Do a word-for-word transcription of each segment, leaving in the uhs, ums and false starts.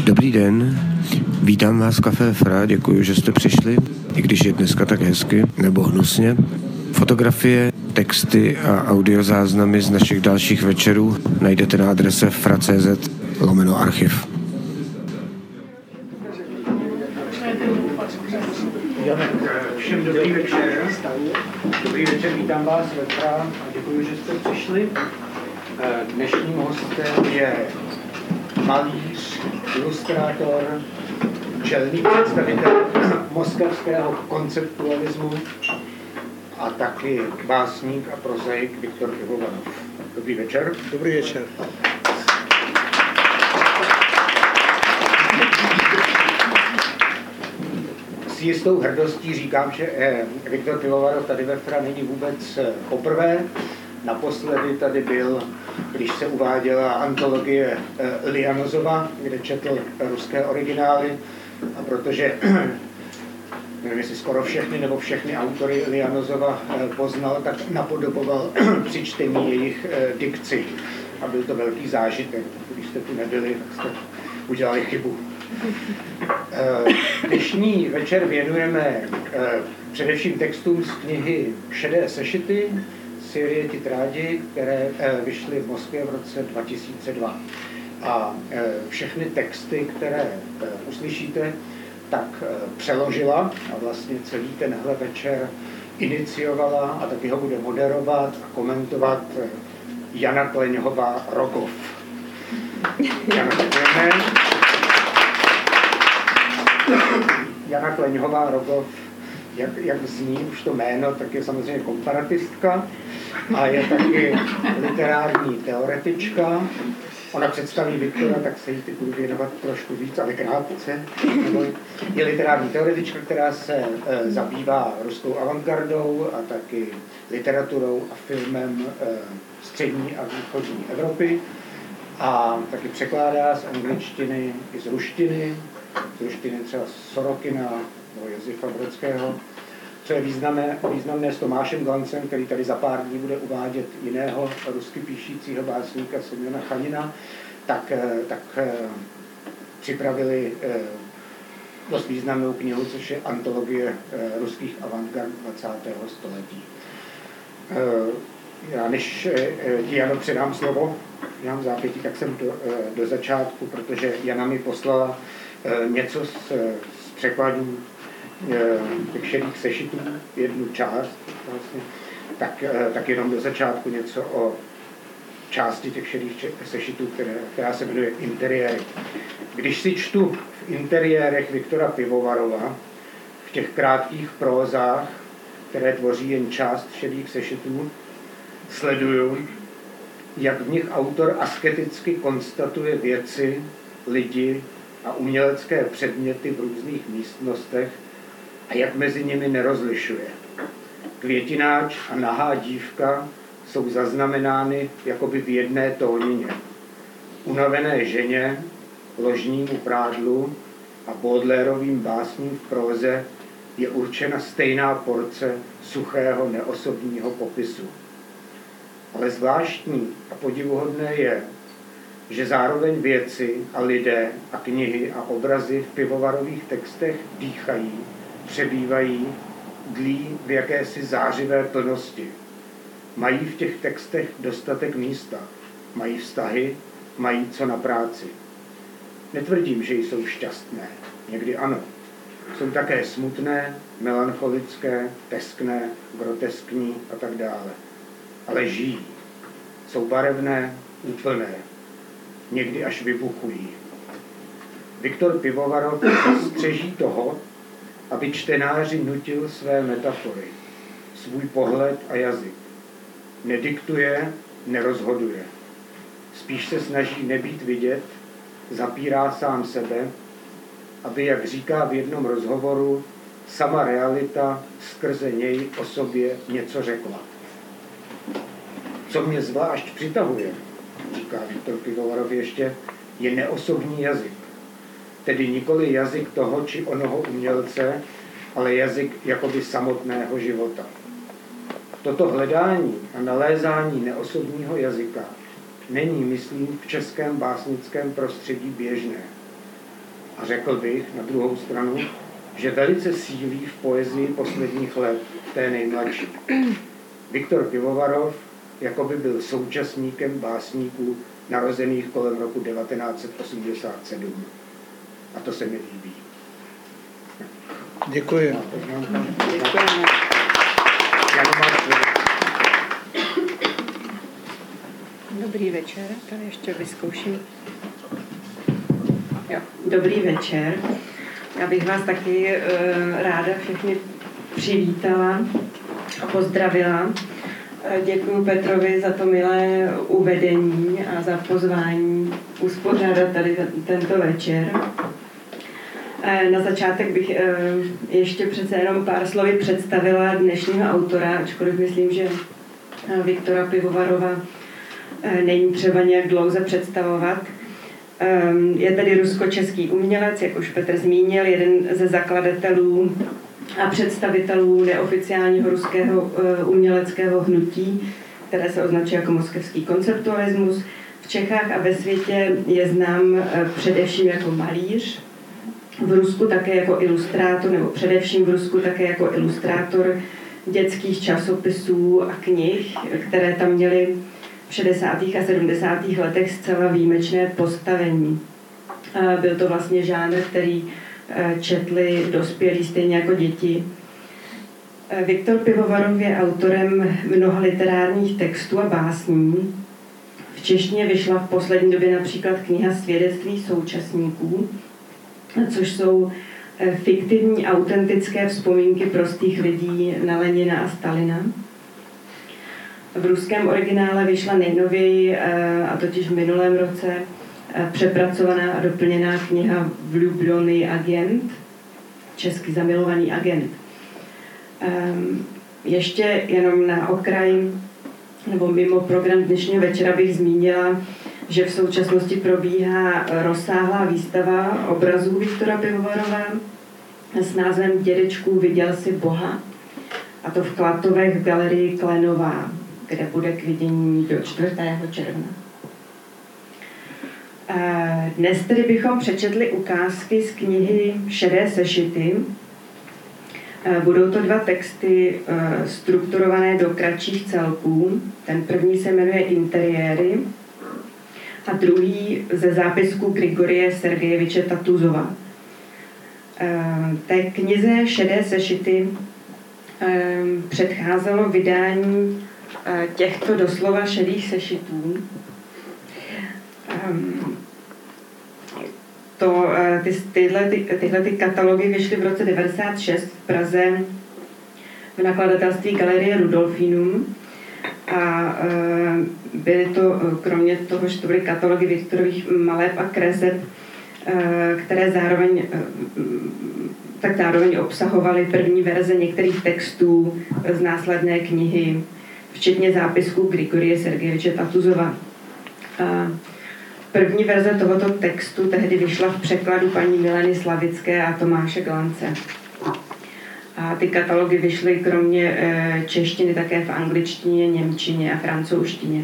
Dobrý den, vítám vás v Café Fra, děkuji, že jste přišli, i když je dneska tak hezky, nebo hnusně. Fotografie, texty a audiozáznamy z našich dalších večerů najdete na adrese fra.cz lomeno archiv. Všem dobrý večer. Dobrý večer, vítám vás ve Fra a děkuji, že jste přišli. Dnešním hostem je malíř, ilustrátor, čelný představitel moskevského konceptualismu a taky básník a prozaik Viktor Pivovarov. Dobrý večer. Dobrý večer. S jistou hrdostí říkám, že Viktor Pivovarov tady ve Fra není vůbec poprvé. Naposledy tady byl, když se uváděla antologie Lianozova, kde četl ruské originály. A protože, nevím, jestli skoro všechny nebo všechny autory Lianozova poznal, tak napodoboval při čtení jejich dikci. A byl to velký zážitek. Když jste tu nebyli, tak jste udělali chybu. Dnešní večer věnujeme především textům z knihy Šedé sešity, série Titrádi, které vyšly v Moskvě v roce dva tisíce dva. A všechny texty, které uslyšíte, tak přeložila a vlastně celý tenhle večer iniciovala a taky ho bude moderovat a komentovat Jana Kleňhová Rogov. Jana, děkujeme. Jana Kleňhová Rogov, jak, jak zní už to jméno, tak je samozřejmě komparatistka a je taky literární teoretička. Ona představí Viktora, tak se jí budu věnovat trošku víc, ale krátce. Je literární teoretička, která se e, zabývá ruskou avantgardou a taky literaturou a filmem e, střední a východní Evropy. A taky překládá z angličtiny i z ruštiny, z ruštiny třeba Sorokina nebo Josefa Brodského, co je významné, významné s Tomášem Glancem, který tady za pár dní bude uvádět jiného rusky píšícího básníka Semjona Chanina, tak, tak připravili dost významnou knihu, což je antologie ruských avantgard dvacátého století. Já než ti, Jano, předám slovo, já mám zápětí, tak jsem do, do začátku, protože Jana mi poslala něco z, z překladů těch šedých sešitů, jednu část vlastně, tak, tak jenom do začátku něco o části těch šedých sešitů, které, která se jmenuje Interiéry. Když si čtu v interiérech Viktora Pivovarova, v těch krátkých prózách, které tvoří jen část šedých sešitů, sleduju, jak v nich autor asketicky konstatuje věci, lidi a umělecké předměty v různých místnostech a jak mezi nimi nerozlišuje. Květináč a nahá dívka jsou zaznamenány jakoby v jedné tónině. Unavené ženě, ložnímu prádlu a Baudelaireovým básním v próze je určena stejná porce suchého neosobního popisu. Ale zvláštní a podivuhodné je, že zároveň věci a lidé a knihy a obrazy v Pivovarových textech dýchají, přebývají, dlí v jakési zářivé plnosti. Mají v těch textech dostatek místa, mají vztahy, mají co na práci. Netvrdím, že jsou šťastné, někdy ano. Jsou také smutné, melancholické, teskné, groteskní a tak dále. Ale žijí. Jsou barevné, úplné. Někdy až vybuchují. Viktor Pivovarov střeží toho, aby čtenáři nutil své metafory, svůj pohled a jazyk. Nediktuje, nerozhoduje. Spíš se snaží nebýt vidět, zapírá sám sebe, aby, jak říká v jednom rozhovoru, sama realita skrze něj o sobě něco řekla. Co mě zvlášť přitahuje, říká Viktor Pivovarov ještě, je neosobní jazyk. Tedy nikoli jazyk toho či onoho umělce, ale jazyk jakoby samotného života. Toto hledání a nalézání neosobního jazyka není, myslím, v českém básnickém prostředí běžné. A řekl bych na druhou stranu, že velice sílí v poezii posledních let, té nejmladší. Viktor Pivovarov jako by byl současníkem básníků narozených kolem roku devatenáct set osmdesát sedm. A to se mi líbí. Děkuji. Děkujeme. Dobrý večer, tady ještě vyzkouším. Jo. Dobrý večer. Já bych vás taky e, ráda všechny přivítala a pozdravila. E, děkuji Petrovi za to milé uvedení a za pozvání uspořádat tady tento večer. E, na začátek bych e, ještě přece jenom pár slovy představila dnešního autora, ačkoliv myslím, že Viktora Pivovarova e, není třeba nějak dlouze představovat. Je tedy rusko-český umělec, jak už Petr zmínil, jeden ze zakladatelů a představitelů neoficiálního ruského uměleckého hnutí, které se označuje jako moskevský konceptualismus. V Čechách a ve světě je znám především jako malíř, v Rusku také jako ilustrátor, nebo především v Rusku také jako ilustrátor dětských časopisů a knih, které tam měly v šedesátých a sedmdesátých letech zcela výjimečné postavení. Byl to vlastně žánr, který četli dospělí stejně jako děti. Viktor Pivovarov je autorem mnoha literárních textů a básní. V češtině vyšla v poslední době například kniha Svědectví současníků, což jsou fiktivní, autentické vzpomínky prostých lidí na Lenina a Stalina. V ruském originále vyšla nejnověji, a totiž v minulém roce, přepracovaná a doplněná kniha Vljubljoný agent, česky Zamilovaný agent. Ještě jenom na okraj, nebo mimo program dnešního večera bych zmínila, že v současnosti probíhá rozsáhlá výstava obrazů Viktora Pivovarova s názvem Dědečku, viděl jsi Boha, a to v Klatovech v galerii Klenová, kde bude k vidění do čtvrtého června. Dnes tedy bychom přečetli ukázky z knihy Šedé sešity. Budou to dva texty strukturované do kratších celků. Ten první se jmenuje Interiéry a druhý ze zápisku Grigorie Sergejeviče Tatuzova. Té knize Šedé sešity předcházelo vydání těchto doslova šedých sešitů. To, ty, tyhle, ty, tyhle ty katalogy vyšly v roce devadesát šest v Praze v nakladatelství Galerie Rudolfinum a byly to, kromě toho, že to byly katalogy Viktorových maleb a kreseb, které zároveň, tak zároveň obsahovaly první verze některých textů z následné knihy, včetně zápisků Grigorie Sergejeviče Tatuzova. První verze tohoto textu tehdy vyšla v překladu paní Mileny Slavické a Tomáše Glance. A ty katalogy vyšly kromě češtiny také v angličtině, němčině a francouzštině.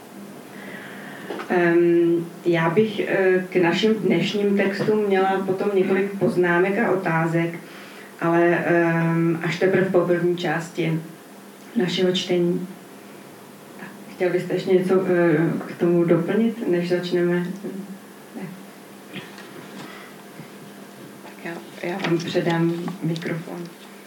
Já bych k našim dnešním textům měla potom několik poznámek a otázek, ale až teprve po první části našeho čtení. Chtěl byste ještě něco k tomu doplnit, než začneme? Ne. Tak já, já vám předám mikrofon.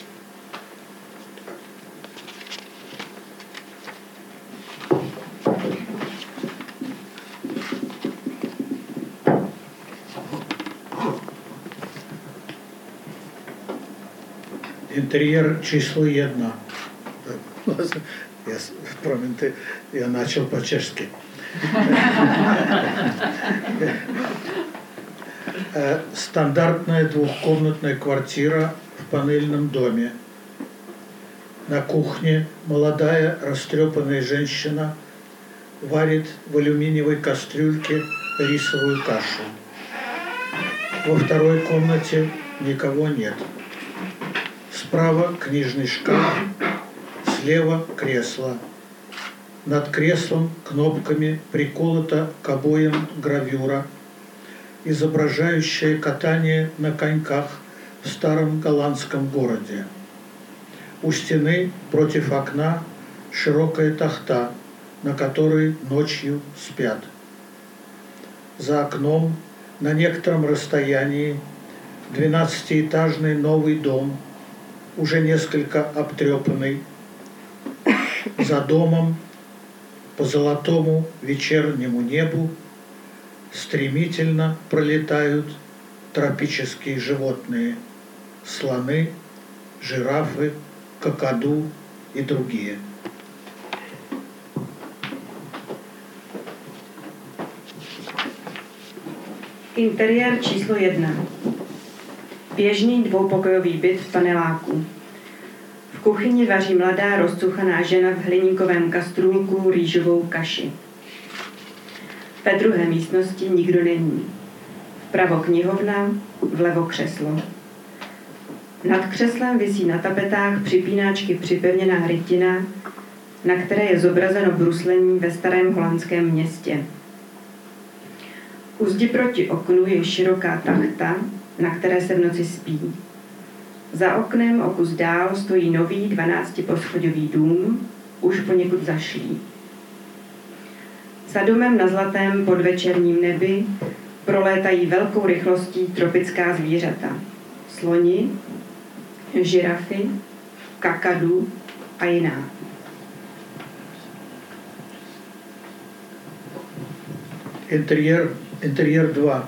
Интерьер число jedna. Я, проmiňte, я начал по-чешски. Стандартная двухкомнатная квартира в панельном доме. На кухне молодая растрепанная женщина варит в алюминиевой кастрюльке рисовую кашу. Во второй комнате никого нет. Справа книжный шкаф, слева кресло. Над креслом кнопками приколота к обоям гравюра. изображающая катание на коньках в старом голландском городе. У стены против окна широкая тахта, на которой ночью спят. За окном на некотором расстоянии двенадцатиэтажный новый дом, уже несколько обтрепанный. За домом по золотому вечернему небу стремительно пролетают тропические животные – слоны, жирафы, какаду и другие. Interiér číslo jedna. Běžný dvoupokojový byt v paneláku. V kuchyni vaří mladá rozcuchaná žena v hliníkovém kastrůlku rýžovou kaši. Ve druhé místnosti nikdo není. Vpravo knihovna, vlevo křeslo. Nad křeslem visí na tapetách připínáčky připevněná rytina, na které je zobrazeno bruslení ve starém holandském městě. U zdi proti oknu je široká tachta, na které se v noci spí. Za oknem o kus dál stojí nový dvanáctiposchodový dům, už poněkud zašlý. Za domem na zlatém podvečerním nebi prolétají velkou rychlostí tropická zvířata. Sloni, žirafy, kakadu a jiná. Интерьер, интерьер два.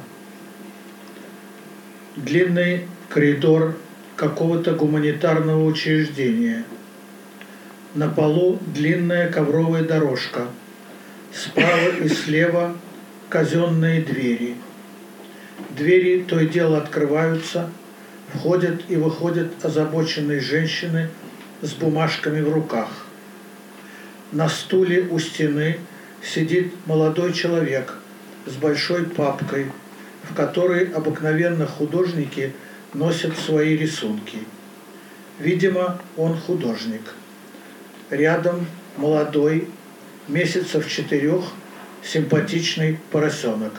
Длинный коридор какого-то гуманитарного учреждения. На полу длинная ковровая дорожка. Справа и слева казенные двери. Двери то и дело открываются, входят и выходят озабоченные женщины с бумажками в руках. На стуле у стены сидит молодой человек с большой папкой, в которой обыкновенно художники носят свои рисунки. Видимо, он художник. Рядом молодой, месяцев четырех, симпатичный поросенок.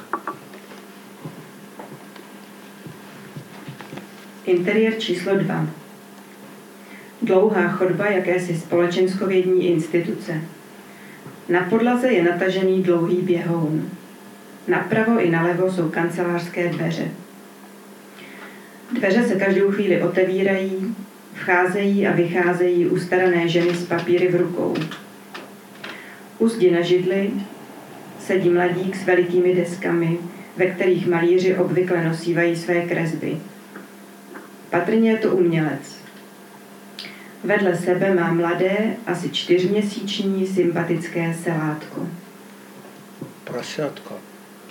Interiér číslo dva. Dlouhá chodba jakési společenskovědní instituce. Na podlaze je natažený dlouhý běhoun. Napravo i nalevo jsou kancelářské dveře. Dveře se každou chvíli otevírají, vcházejí a vycházejí ustarané ženy s papíry v rukou. U zdi na židli sedí mladík s velikými deskami, ve kterých malíři obvykle nosívají své kresby. Patrně je to umělec. Vedle sebe má mladé, asi čtyřměsíční sympatické selátko. Просятко.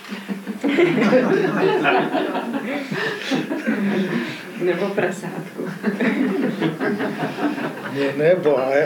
Nebo prasátko. Не, nebo, ale...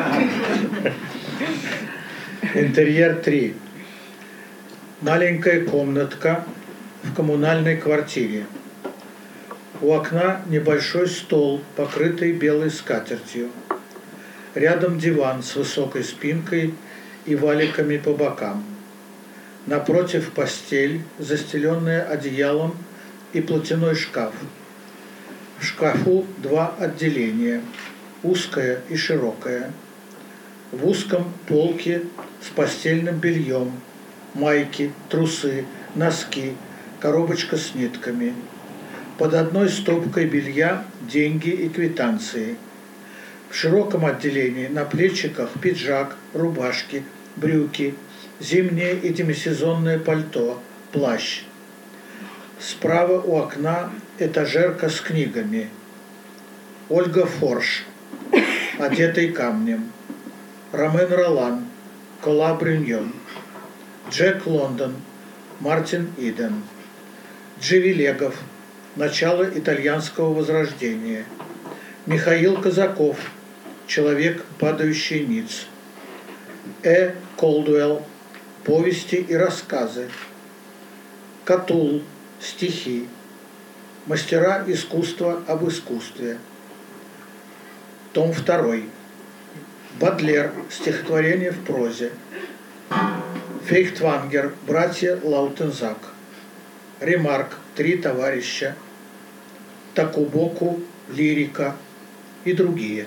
Интерьер три. Маленькая комнатка в коммунальной квартире. У окна небольшой стол, покрытый белой скатертью. Рядом диван с высокой спинкой и валиками по бокам. Напротив постель, застеленная одеялом, и платяной шкаф. В шкафу два отделения, узкое и широкое. В узком полке с постельным бельем, майки, трусы, носки, коробочка с нитками. Под одной стопкой белья деньги и квитанции. В широком отделении на плечиках пиджак, рубашки, брюки, зимнее и демисезонное пальто, плащ. Справа у окна этажерка с книгами. Ольга Форш, одетый камнем. Ромен Ролан, Кола Брюньон. Джек Лондон, Мартин Иден. Дживи Легов, начало итальянского возрождения. Михаил Казаков, человек, падающий ниц. Э. Колдуэлл, повести и рассказы. Катул, стихи. Мастера искусства об искусстве. Том второй. Бодлер, стихотворение в прозе. Фейхтвангер, братья Лаутензак. Ремарк «Три товарища», Такубоку «Лирика» и другие.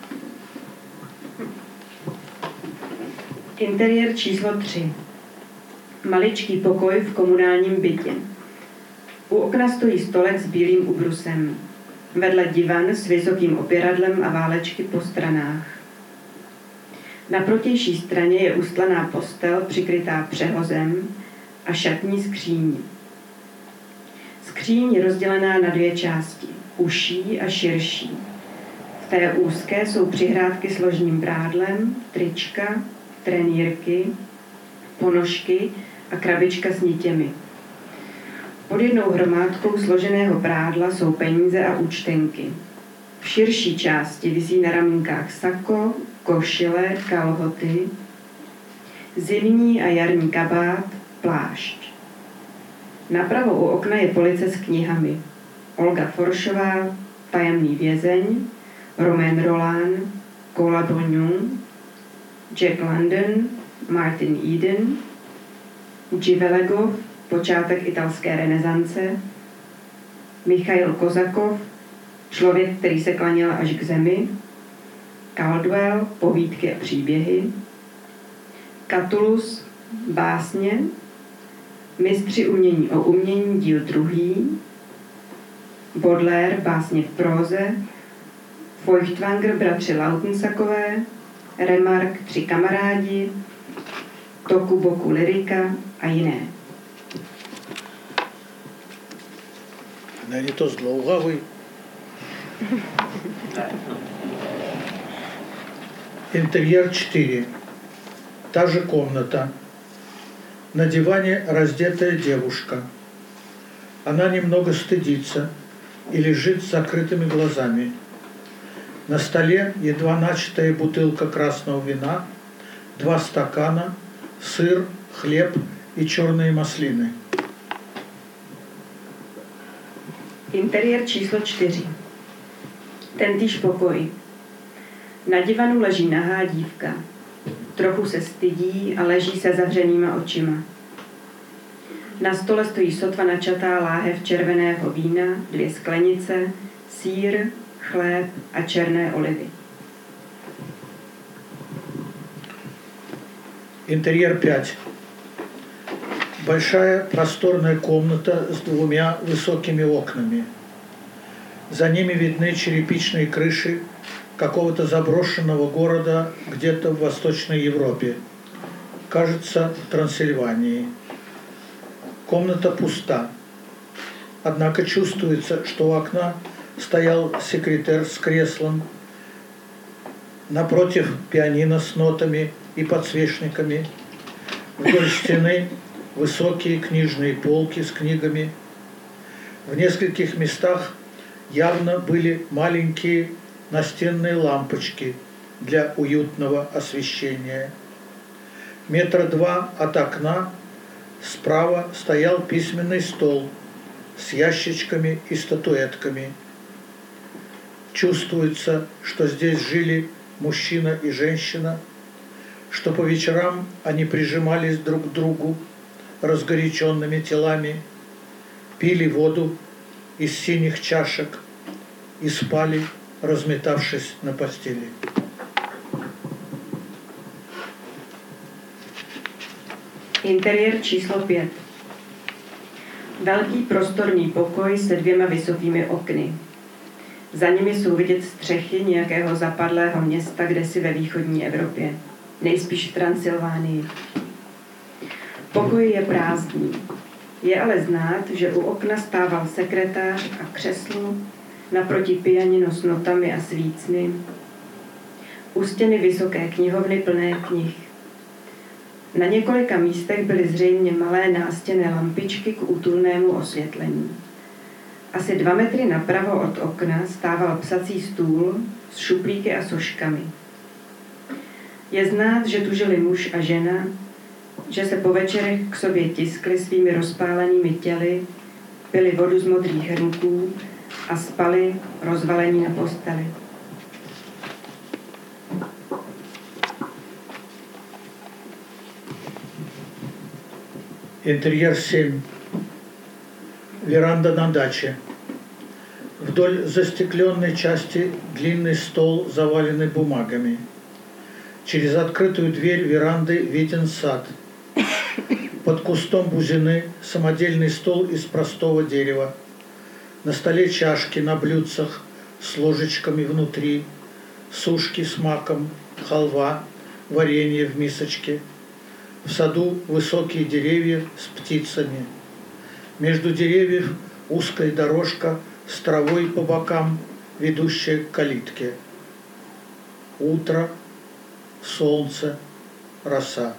Interiér číslo tři. Maličký pokoj v komunálním bytě. U okna stojí stolek s bílým ubrusem. Vedle divan s vysokým opěradlem a válečky po stranách. Na protější straně je ustlaná postel přikrytá přehozem a šatní skříň. Skříň je rozdělená na dvě části, užší a širší. V té úzké jsou přihrádky s ložním brádlem, trička, trenýrky, ponožky a krabička s nitěmi. Pod jednou hromádkou složeného prádla jsou peníze a účtenky. V širší části visí na ramínkách sako, košile, kalhoty, zimní a jarní kabát, plášť. Napravo u okna je police s knihami. Olga Foršová, Tajemný vězeň, Romain Rolland, Cola Brugnon, Jack London, Martin Eden, Dživelegov, Počátek italské renesance, Michail Kozakov, Člověk, který se klaněl až k zemi, Caldwell, Povídky a příběhy, Catullus, Básně, Mistři umění o umění, díl druhý, Baudelaire, Básně v próze, Feuchtwanger, Bratři Lautensakové, Remark, Tři kamarádi, Tokuboku, Lyrika a jiné. Není to zdlouhavý. Интерьер четыре. Та же комната. На диване раздетая девушка. Она немного стыдится и лежит с закрытыми глазами. На столе едва начатая бутылка красного вина, два стакана, сыр, хлеб и черные маслины. Interiér číslo čtyři. Tentýž pokoj. Na divanu leží nahá dívka. Trochu se stydí a leží se zavřenýma očima. Na stole stojí sotva načatá láhev červeného vína, dvě sklenice, sýr, chléb a černé olivy. Интерьер пять. Большая просторная комната с двумя высокими окнами. За ними видны черепичные крыши какого-то заброшенного города где-то в Восточной Европе. Кажется, в Трансильвании. Комната пуста. Однако чувствуется, что у окна стоял секретарь с креслом. Напротив пианино с нотами и подсвечниками. Вдоль стены высокие книжные полки с книгами. В нескольких местах явно были маленькие настенные лампочки для уютного освещения. Метра два от окна справа стоял письменный стол с ящичками и статуэтками. Чувствуется, что здесь жили мужчина и женщина, что по вечерам они прижимались друг к другу разгоряченными телами, пили воду из синих чашек и спали, разметавшись на постели. Interiér číslo pět. Velký prostorný pokoj se dvěma vysokými okny. Za nimi jsou vidět střechy nějakého zapadlého města kdesi ve východní Evropě, nejspíš v Transylvánii. Pokoj je prázdný. Je ale znát, že u okna stával sekretář a křeslo, naproti pianino s notami a svícny, u stěny vysoké knihovny plné knih. Na několika místech byly zřejmě malé nástěnné lampičky k útulnému osvětlení. Asi dva metry napravo od okna stával psací stůl s šuplíky a soškami. Je znát, že tu žili muž a žena, že se po večerech k sobě tiskli svými rozpálenými těly, pili vodu z modrých hrnků a spali rozvalení na posteli. Интерьер семь. Веранда на даче. Вдоль застекленной части длинный стол, заваленный бумагами. Через открытую дверь веранды виден сад. Под кустом бузины самодельный стол из простого дерева. На столе чашки на блюдцах с ложечками внутри, сушки с маком, халва, варенье в мисочке. В саду высокие деревья с птицами. Между деревьев узкая дорожка с травой по бокам, ведущая к калитке. Утро, солнце, роса.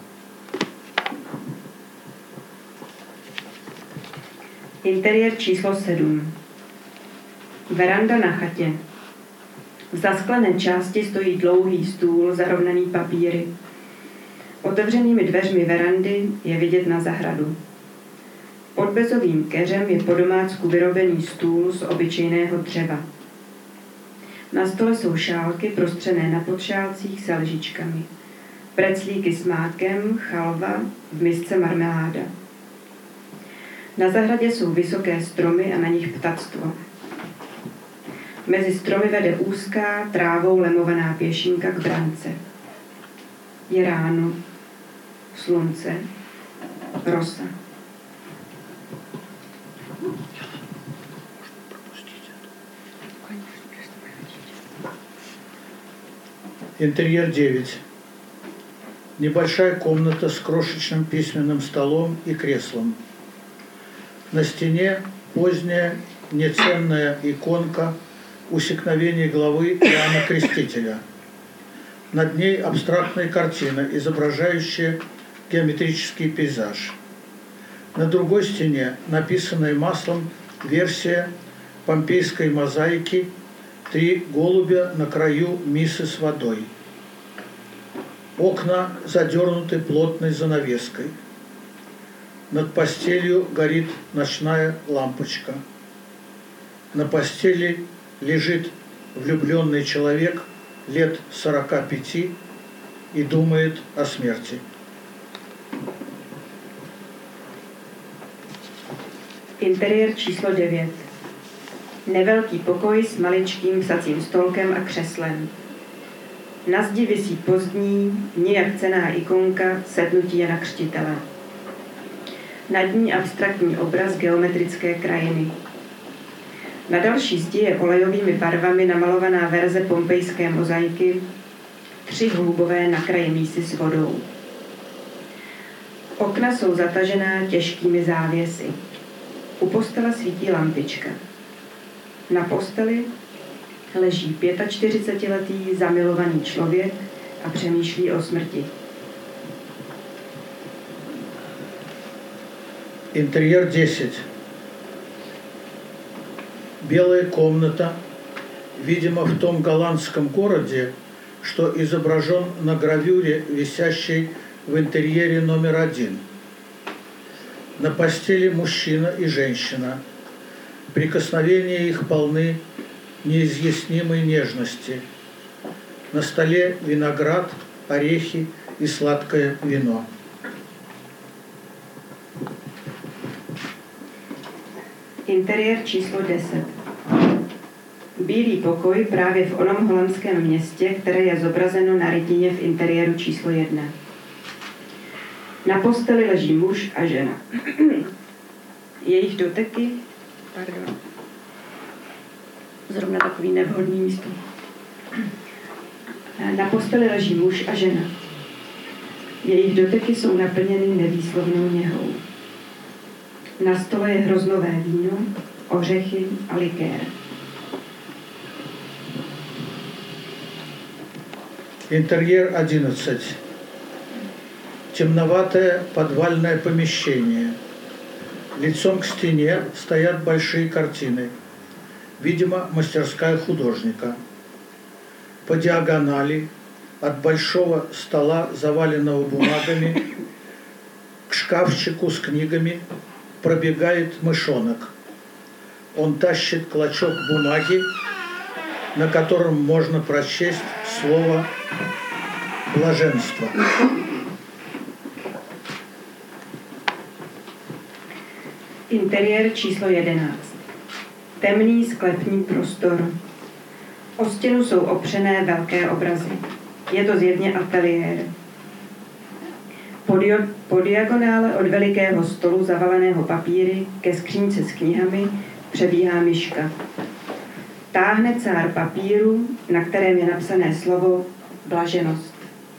Interiér číslo sedm. Veranda na chatě. V zasklené části stojí dlouhý stůl zarovnaný papíry. Otevřenými dveřmi verandy je vidět na zahradu. Pod bezovým keřem je po domácku vyrobený stůl z obyčejného dřeva. Na stole jsou šálky prostřené na podšálcích se lžičkami. Preclíky s mákem, chalva, v misce marmeláda. Na zahradě jsou vysoké stromy a na nich ptactvo. Mezi stromy vede úzká, trávou lemovaná pěšinka k brance. Je ráno, slunce, rosa. Интерьер девять. Небольшая комната с крошечным письменным столом и креслом. На стене поздняя неценная иконка усекновения главы Иоанна Крестителя. Над ней абстрактная картина, изображающая геометрический пейзаж. На другой стене написанная маслом версия помпейской мозаики «Три голубя на краю миссы с водой». Окна задернуты плотной занавеской. Над постелью горит ночная лампочка. На постели лежит влюбленный человек лет сорока пяти и думает о смерти. Interiér číslo devět. Nevelký pokoj s maličkým psacím stolkem a křeslem. Na zdi visí pozdní, nijak cenná ikonka Setnutí Jana Křtitele. Nad ní abstraktní obraz geometrické krajiny. Na další zdi je olejovými barvami namalovaná verze pompejské mozaiky Tři holubové na kraji mísy s vodou. Okna jsou zatažená těžkými závěsy. U postele svítí lampička. Na posteli leží čtyřicetiletý zamilovaný člověk a přemýšlí o smrti. Интерьер десять. Белая комната, видимо, в том голландском городе, что изображен на гравюре, висящей в интерьере номер один. На постели мужчина и женщина. Прикосновения их полны неизъяснимой нежности. На столе виноград, орехи и сладкое вино. Interiér číslo deset. Bílý pokoj právě v onom holandském městě, které je zobrazeno na rytině v interiéru číslo jedna. Na posteli leží muž a žena. Jejich doteky, pardon, zrovna takový nevhodný místo. Na posteli leží muž a žena. Jejich doteky jsou naplněny nevýslovnou něhou. Na stole je hroznové víno, ořechy a likér. Интерьер одиннадцать. Темноватое подвальное помещение. Лицом к стене стоят большие картины. Видимо, мастерская художника. По диагонали от большого стола, заваленного бумагами, к шкафчику с книгами пробегает мышонок. Он тащит клочок бумаги, на котором можно прочесть слово «блаженство». Interiér číslo jedenáct. Temný sklepní prostor. O stěnu jsou opřené velké obrazy. Je to zjevně ateliér. Po, dio- po diagonále od velikého stolu zavaleného papíry ke skřínce s knihami přebíhá myška. Táhne cár papíru, na kterém je napsané slovo blaženost.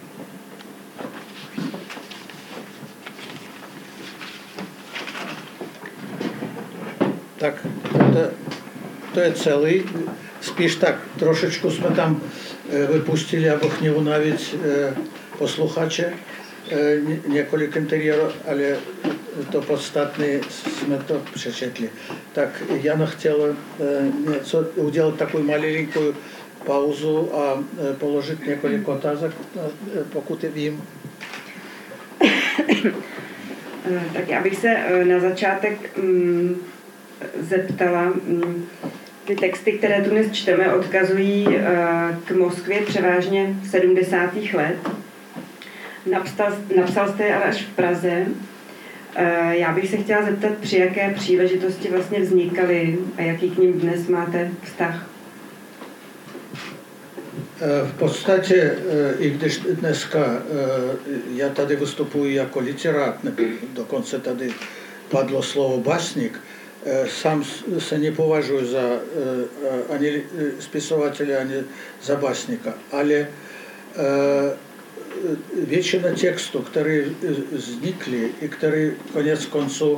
Tak to, to je celý. Spíš tak, trošičku jsme tam vypustili, abych не унавить posluchače, několik interiérů, ale to podstatné jsme to přečetli. Tak Jana chtěla něco, udělat takovou maленькую pauzу a položit několik otázek, pokud vím. Tak já bych se na začátek mm, zeptala, mm, ty texty, které tu dnes čteme, odkazují uh, k Moskvě převážně sedmdesátých let. Napsal, napsal jste je ale až v Praze. Uh, já bych se chtěla zeptat, při jaké příležitosti vlastně vznikaly a jaký k nim dnes máte vztah? V podstatě, i když dneska já tady vystupuji jako literát, nebo dokonce tady padlo slovo básník, sám se nepovažuji za ani spisovatele, ani za básníka, ale většina textů, které vznikly i které konec konců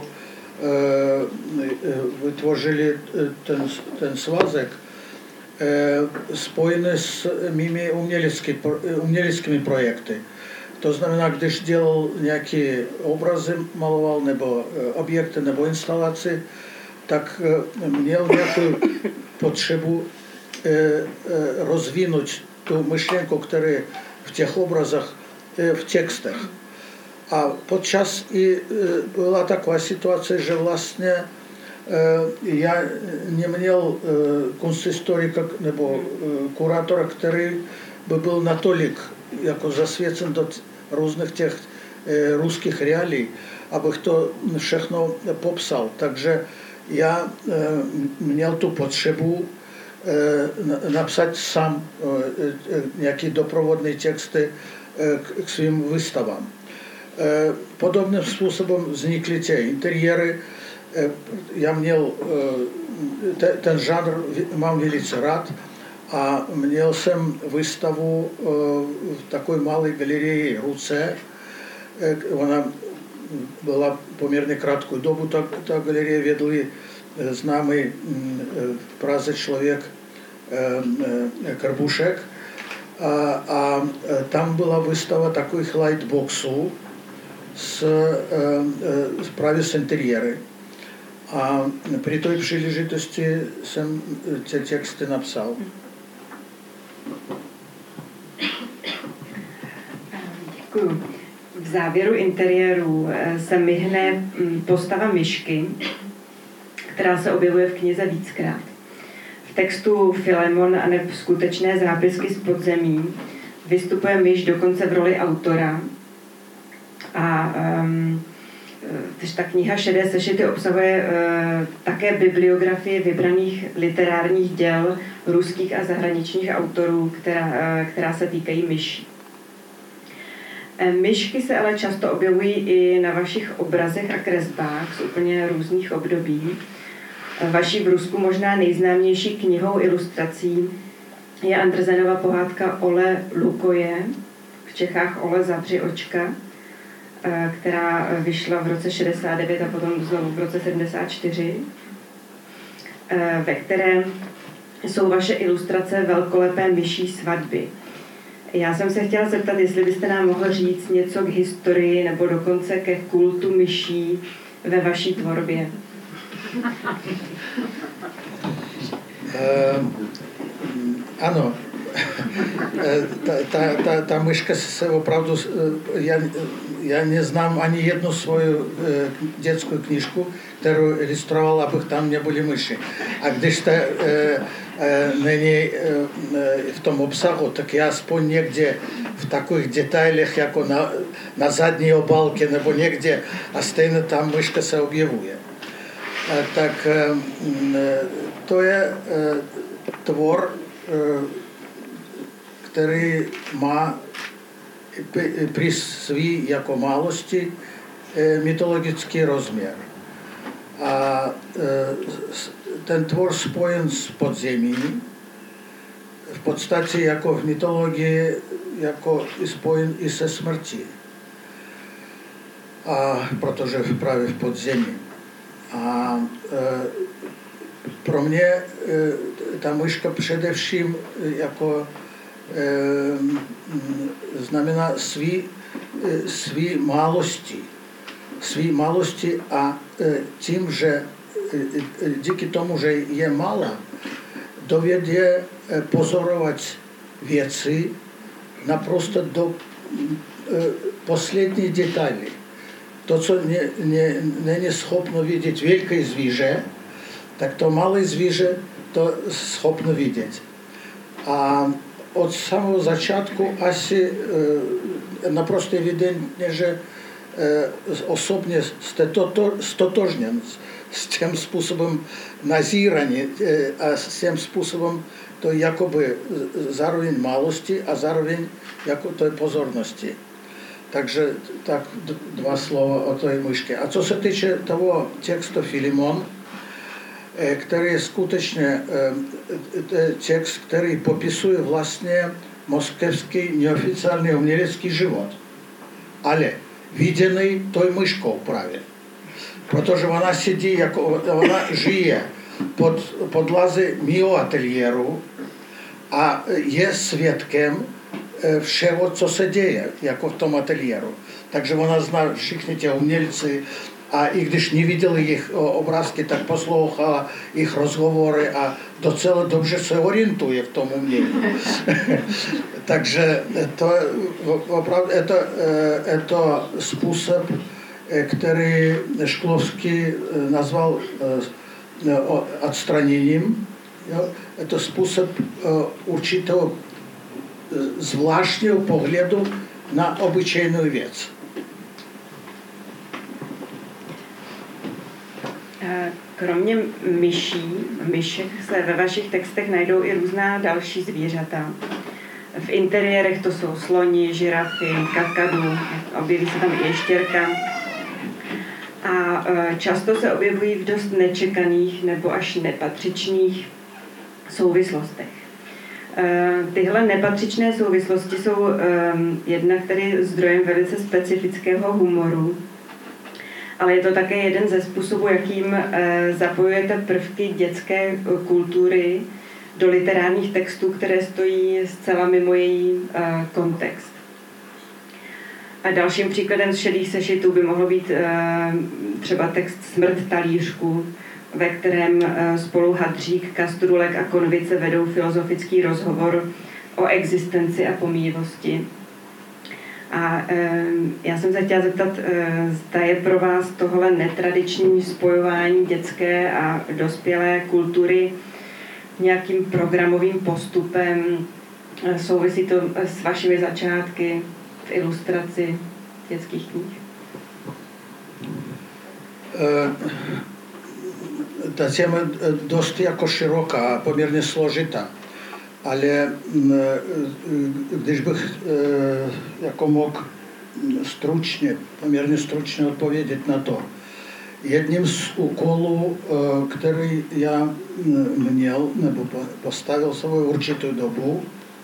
vytvořili ten, ten svazek, spojené s mými uměleckými, uměleckými projekty. To znamená, když dělal nějaké obrazy, maloval, nebo objekty, nebo instalace, tak měl nějakou potřebu rozvinout tu myšlenku, která v těch obrazech, v textech. A podčas i byla taková situace, že vlastně já neměl kunsthistorika nebo kurátora, který by byl natolik jako zasvěcen do různých těch ruských reálí, abych to všechno popsal. Takže já měl tu potřebu napsat sám nějaké doprovodné texty k svým výstavám. Podobným způsobem vznikly ty interiéry. Já měl ten žánr, mám velice rád a měl jsem výstavu v takové malé galerii Ruce. Ona byla poměrně krátkou dobu, ta, ta galerie vedli známý v Praze člověk Karbušek a, a tam byla výstava takových lightboxů s, s právě s interiéry. A při té příležitosti jsem ty texty napsal. Děkuju. V závěru interiéru se myhne postava myšky, která se objevuje v knize víckrát. V textu Filemon a neb skutečné zápisky z podzemí vystupuje myš dokonce v roli autora. A um, ta kniha Šedé sešity obsahuje uh, také bibliografii vybraných literárních děl ruských a zahraničních autorů, která, uh, která se týkají myší. Myšky se ale často objevují i na vašich obrazech a kresbách z úplně různých období. Vaší v Rusku možná nejznámější knihou ilustrací je Andersenova pohádka Ole Lukoje, v Čechách Ole zavři očka, která vyšla v roce šedesát devět a potom znovu v roce sedmdesát čtyři, ve které jsou vaše ilustrace velkolepé myší svatby. Já jsem se chtěla zeptat, jestli byste nám mohl říct něco k historii nebo dokonce ke kultu myší ve vaší tvorbě. Uh, ano, ta, ta, ta, ta myška se opravdu, já, já neznám ani jednu svou dětskou knížku, kterou ilustroval, abych tam nebyly myši. A když to e, e, není e, v tom obsahu, tak já aspoň někde v takových detailech, jako na, na zadní obálce nebo někde, a stejně tam myška se objevuje. Tak to je tvor, který má při svý jako málosti mytologický rozměr. A ten tvor spojen s podzemí, v podstatě jako v mytologii, jako i spojen i se smrtí. A protože právě v podzemí. A e, pro mě e, ta myška především jako e, znamená svý, e, svý málosti. Svý málosti a e, tím, že e, díky tomu, že je malá, dovědě e, pozorovat věci naprosto do e, poslední detaily. To, co nie, nie, není schopno vidět velké zvíře, tak to malé zvíře to schopno vidět. A od samého začátku asi e, naprosto evidentně, že e, osobně jste toto, stotožněn s tím způsobem nazírání e, a s tím způsobem to jakoby zároveň málosti a zároveň jako to je pozornosti. Takže tak dva slova o té myšce. A co se týče toho textu Filimon, který je skutečně text, který popisuje vlastně moskevský neoficiální umělecký život, ale viděný tou myškou právě. Protože ona sedí, jako ona žije pod, pod lazy mého ateliéru a je svědkem všeho, co se děje, jako v tom ateliéru. Takže ona zná všichni ty umělci a i když neviděli jejich obrázky, tak poslouchala jejich rozhovory a docela dobře se orientuje v tom umění. Takže to opravdu je to, je to způsob, který Šklovský nazval odstraněním. Je to způsob určitého zvláštního pohledu na obyčejnou věc. Kromě myší, myšek se ve vašich textech najdou i různá další zvířata. V interiérech to jsou sloni, žirafy, kakadu, objeví se tam i ještěrka. A často se objevují v dost nečekaných nebo až nepatřičných souvislostech. Tyhle nepatřičné souvislosti jsou jednak tedy zdrojem velice specifického humoru, ale je to také jeden ze způsobů, jakým zapojujete prvky dětské kultury do literárních textů, které stojí zcela mimo její kontext. A dalším příkladem z šedých sešitů by mohl být třeba text Smrt talířku, ve kterém spolu Hadřík, Kastrulek a Konvice vedou filozofický rozhovor o existenci a pomíjivosti. A e, já jsem se chtěla zeptat, e, zda je pro vás tohle netradiční spojování dětské a dospělé kultury nějakým programovým postupem, e, souvisí to s vašimi začátky v ilustraci dětských knih? Uh... Ta téma dost jako široká, poměrně složitá, ale když bych jako mohl stručně, poměrně stručně odpovědět na to. Jedním z úkolů, který já měl nebo postavil svou určitou dobu,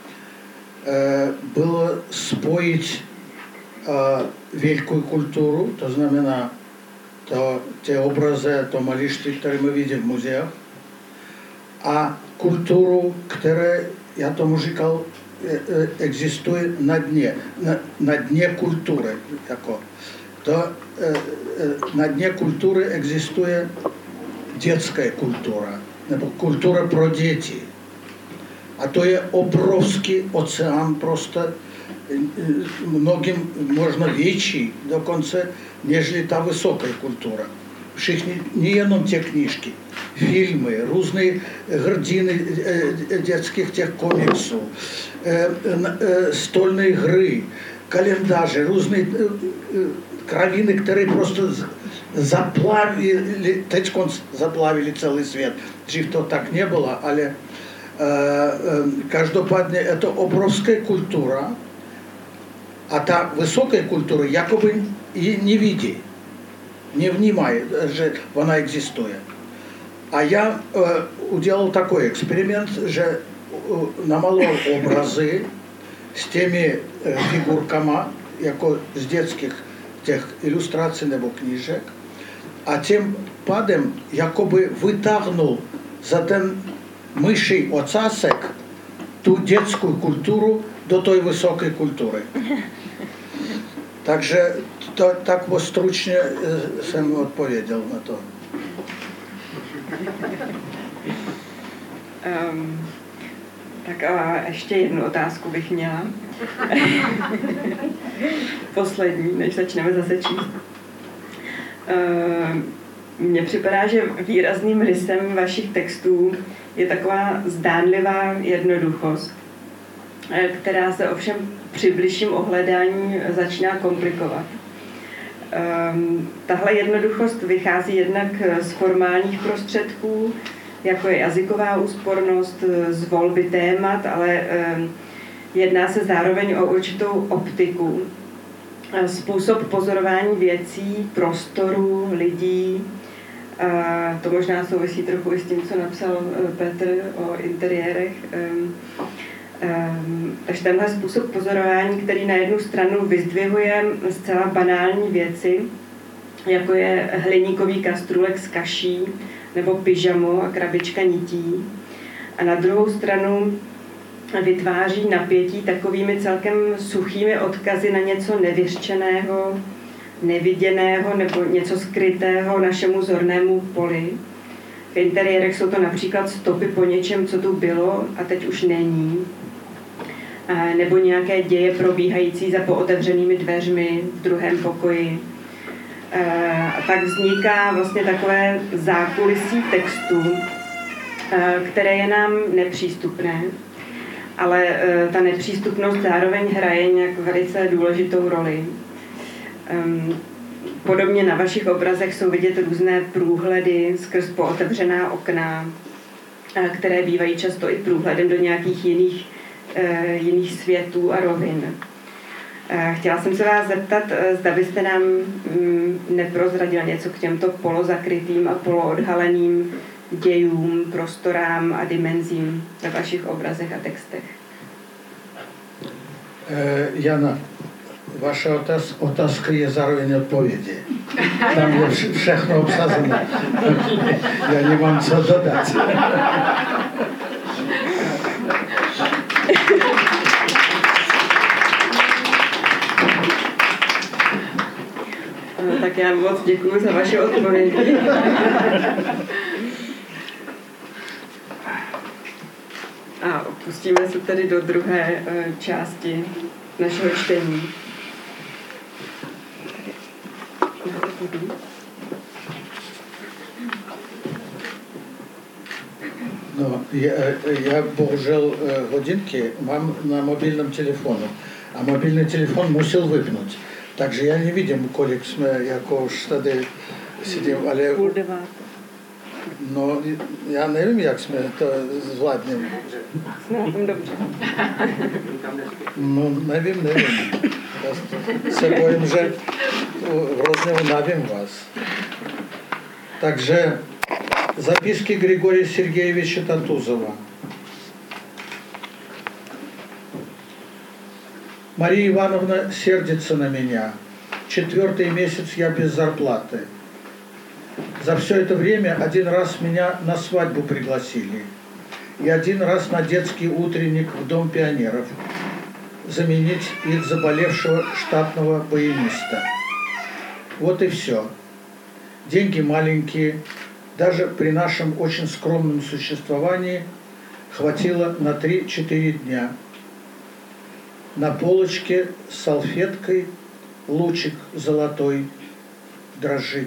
bylo spojit velkou kulturu, to znamená to, ty obrazy, to malířství, které my vidíme v muzeích, a kulturu, které, já tomu říkal, existuje na dně, na, na dně kultury. Jako. To, na dně kultury existuje dětská kultura, nebo kultura pro děti. A to je obrovský oceán, prostě mnogým možná větší, dokonce, nežli ta vysoká kultura. Všichni, nejenom ty knížky, filmy, různé hrdiny dětských těch komiksů, stolné hry, kalendáře, různé kraviny, které prostě заплавили, teď заплавили celý svět. Dřív to tak nebylo, ale e, e, každopádně je to obrovská kultura a ta vysoká kultura jakoby ji nevidí, nevnímá, že ona existuje. A я э, уделал такой эксперимент, že э, намалював образи з тими э, фігурками, jako z dětských těch ilustrací nebo knížek, a tím pádem jakoby vytáhnul za ten myší ocásek tu dětskou kulturu do té vysoké kultury. Takže to, tak stručně jsem odpověděl na to. Um, tak a ještě jednu otázku bych měla. Poslední, než začneme zase číst. Um, Mně připadá, že výrazným rysem vašich textů je taková zdánlivá jednoduchost, která se ovšem při bližším ohledání začíná komplikovat. Um, tahle jednoduchost vychází jednak z formálních prostředků, jako je jazyková úspornost, z volby témat, ale um, jedná se zároveň o určitou optiku, způsob pozorování věcí, prostoru, lidí. A to možná souvisí trochu i s tím, co napsal Petr o interiérech. Um, um, takže tenhle způsob pozorování, který na jednu stranu vyzdvihuje zcela banální věci, jako je hliníkový kastrůlek s kaší nebo pyžamo a krabička nití. A na druhou stranu vytváří napětí takovými celkem suchými odkazy na něco nevyřčeného, neviděného nebo něco skrytého našemu zornému poli. V interiérech jsou to například stopy po něčem, co tu bylo a teď už není. A nebo nějaké děje probíhající za pootevřenými dveřmi v druhém pokoji. A tak vzniká vlastně takové zákulisí textu, které je nám nepřístupné, ale ta nepřístupnost zároveň hraje nějak velice důležitou roli. Podobně na vašich obrazech jsou vidět různé průhledy skrz pootevřená okna, které bývají často i průhledem do nějakých jiných, jiných světů a rovin. Chtěla jsem se vás zeptat, zda byste nám neprozradil něco k těmto polozakrytým a poloodhaleným dějům, prostorám a dimenzím ve vašich obrazech a textech. Jana, vaša otázka je zároveň odpovědi. Tam je všechno obsazené. Já nemám co dodat. Tak já moc děkuji za vaše odpovědi. A pustíme se tedy do druhé části našeho čtení. No, я, я bohužel hodinky mám na mobilním telefonu a mobilní telefon musel vypnout. Takže já nevidím, kolik jsme jako už tady sedím, ale... Půl deváté. No, já nevím, jak jsme to zvládneme. Jsme na tom dobře. No, nevím, nevím. Já se bojím, že hrozně unavím vás. Takže записки Григория Сергеевича Татузова. Мария Ивановна сердится на меня. Четвертый месяц я без зарплаты. За все это время один раз меня на свадьбу пригласили. И один раз на детский утренник в Дом пионеров. Заменить их заболевшего штатного баяниста. Вот и все. Деньги маленькие. Даже при нашем очень скромном существовании хватило на три-четыре дня. На полочке с салфеткой лучик золотой дрожит.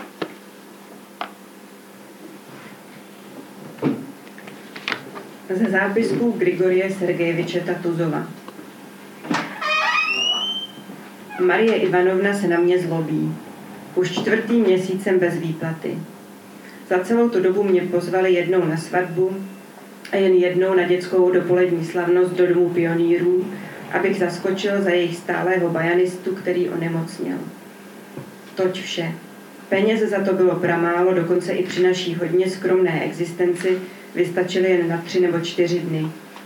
Ze zápisků Grigorie Sergejeviče Tatuzova. Marie Ivanovna se na mě zlobí. Už čtvrtým měsícem bez výplaty. Za celou tu dobu mě pozvali jednou na svatbu a jen jednou na dětskou dopolední slavnost do domu pionýrů, abych zaskočil za jejich stálého bajanistu, který onemocněl. Toť vše. Peněz za to bylo pramálo, dokonce i při naší hodně skromné existenci vystačily jen na tři nebo čtyři dny.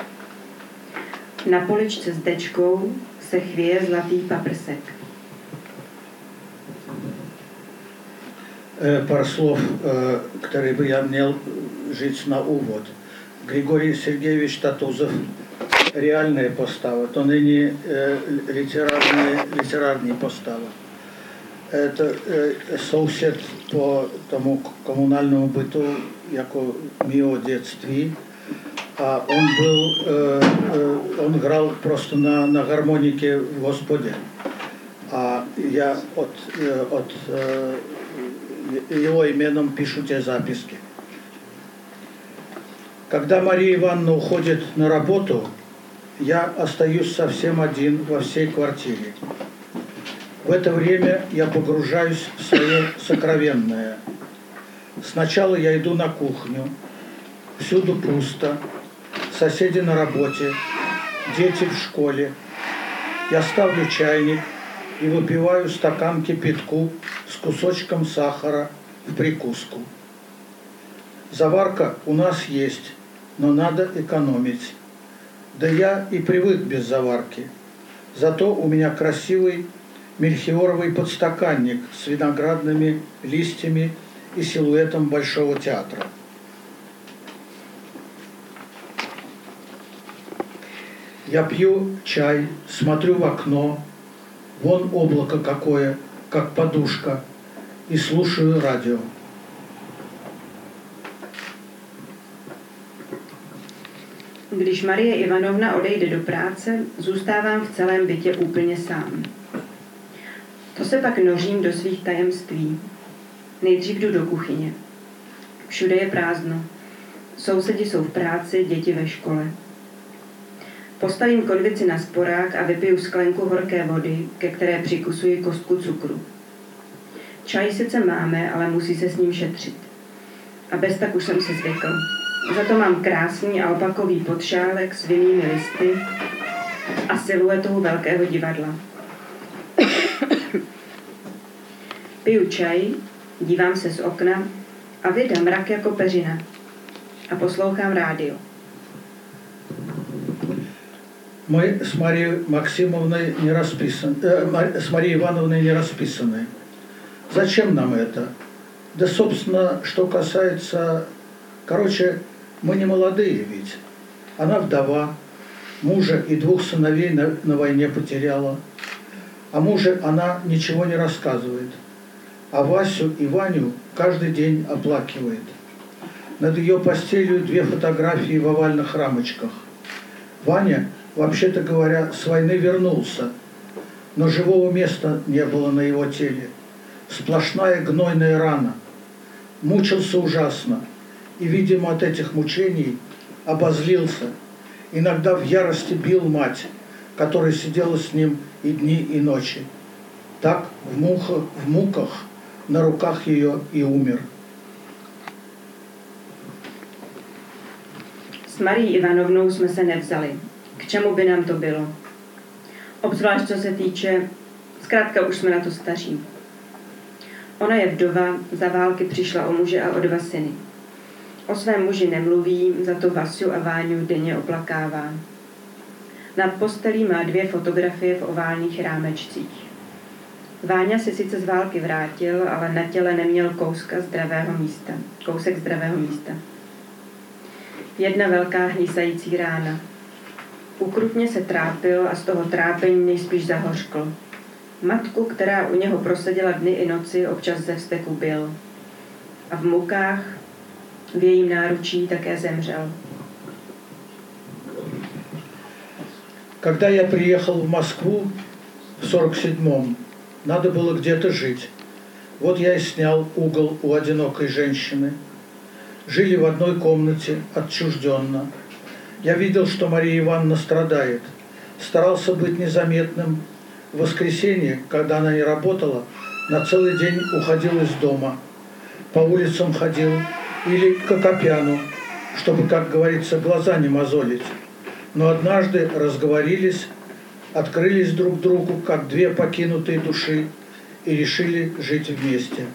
Na poličce s dečkou se chvěje zlatý paprsek. Пару слов, которые бы я měl říct na úvod. Григорий Сергеевич Татузов – реальная постава, то ныне литерарная, литерарная постава. Это сосед по тому коммунальному быту, яко мио детстве. А он был, он играл просто на, на гармонике в Господе. А я от, от его именем пишу те записки. Когда Мария Ивановна уходит на работу, я остаюсь совсем один во всей квартире. В это время я погружаюсь в свое сокровенное. Сначала я иду на кухню. Всюду пусто. Соседи на работе. Дети в школе. Я ставлю чайник и выпиваю стакан кипятку с кусочком сахара в прикуску. Заварка у нас есть, но надо экономить. Да я и привык без заварки. Зато у меня красивый мельхиоровый подстаканник с виноградными листьями и силуэтом Большого театра. Я пью чай, смотрю в окно, вон облако какое, как подушка, и слушаю радио. Když Marie Ivanovna odejde do práce, zůstávám v celém bytě úplně sám. To se pak nořím do svých tajemství. Nejdřív jdu do kuchyně. Všude je prázdno. Sousedi jsou v práci, děti ve škole. Postavím konvici na sporák a vypiju sklenku horké vody, ke které přikusuji kostku cukru. Čaj sice máme, ale musí se s ním šetřit. A bez tak už jsem se zvykl. Za to mám krásný alpakový podšálek s vinnými listy a siluetou velkého divadla. Piju čaj, dívám se z okna a vida mrak jako peřina. A poslouchám rádio. Мы с Марией Максимовной не расписаны, э, с Марией Ивановной не расписаны. Зачем нам это? Да, собственно, что касается... Короче, мы не молодые ведь. Она вдова, мужа и двух сыновей на, на войне потеряла. О муже она ничего не рассказывает. А Васю и Ваню каждый день оплакивает. Над ее постелью две фотографии в овальных рамочках. Ваня, вообще-то говоря, с войны вернулся, но живого места не было на его теле. Сплошная гнойная рана. Мучился ужасно. И, видимо, от этих мучений обозлился. Иногда в ярости бил мать, которая сидела с ним и дни, и ночи. Так в муках, в муках на руках ее и умер. S Marií Ivanovnou jsme se nevzali. K čemu by nám to bylo? Obzvlášť co se týče, zkrátka už jsme na to staří. Ona je vdova, za války přišla o muže a o dva syny. O svém muži nemluví, za to Vasiu a Váňu denně oplakává. Nad postelí má dvě fotografie v oválných rámečcích. Váňa se sice z války vrátil, ale na těle neměl kouska zdravého místa, kousek zdravého místa. Jedna velká hnisající rána. Ukrutně se trápil a z toho trápení nejspíš zahořkl. Matku, která u něho proseděla dny i noci, občas ze vzteku bil. A v mukách, v jejím náručí také zemřel. Когда я приехал в Москву в сорок седьмом, надо было где-то жить. Вот я и снял угол у одинокой женщины. Жили в одной комнате, отчужденно. Я видел, что Мария Ивановна страдает. Старался быть незаметным. В воскресенье, когда она не работала, на целый день уходил из дома, по улицам ходил или к Акопяну, чтобы, как говорится, глаза не мозолить. Но однажды разговорились, открылись друг другу, как две покинутые души, и решили жить вместе.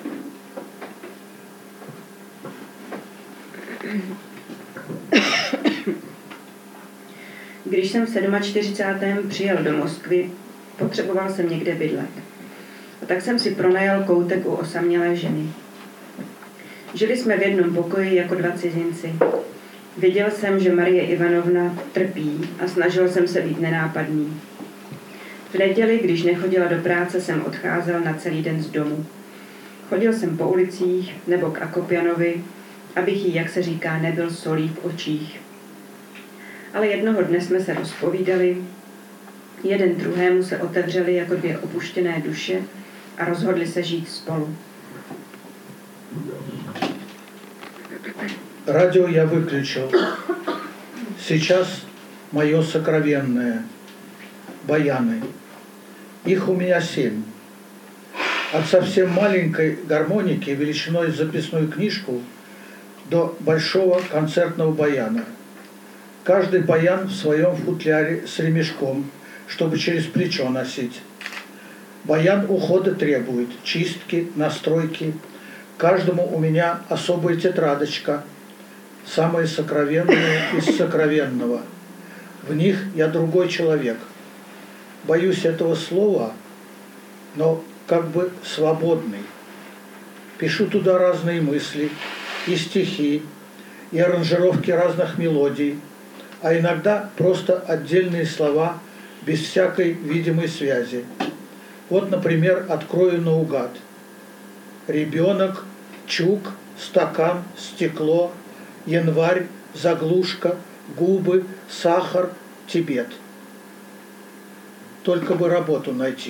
Když jsem v čtyřicátém sedmém přijel do Moskvy, potřeboval jsem někde bydlet. A tak jsem si pronajal koutek u osamělé ženy. Žili jsme v jednom pokoji jako dva cizinci. Viděl jsem, že Marie Ivanovna trpí a snažil jsem se být nenápadný. V neděli, když nechodila do práce, jsem odcházel na celý den z domu. Chodil jsem po ulicích nebo k Akopjanovi, abych jí, jak se říká, nebyl solí v očích. Ale jednoho dne jsme se rozpovídali, jeden druhému se otevřeli jako dvě opuštěné duše a rozhodli se žít spolu. Радио я выключил. Сейчас мое сокровенное. Баяны. Их у меня семь. От совсем маленькой гармоники величиной с записную книжку до большого концертного баяна. Каждый баян в своем футляре с ремешком, чтобы через плечо носить. Баян ухода требует, чистки, настройки. Каждому у меня особая тетрадочка, самое сокровенное из сокровенного. В них я другой человек. Боюсь этого слова, но как бы свободный. Пишу туда разные мысли, и стихи, и аранжировки разных мелодий, а иногда просто отдельные слова без всякой видимой связи. Вот, например, открою наугад. Ребенок, чук, стакан, стекло, январь, заглушка, губы, сахар, Тибет. Только бы работу найти.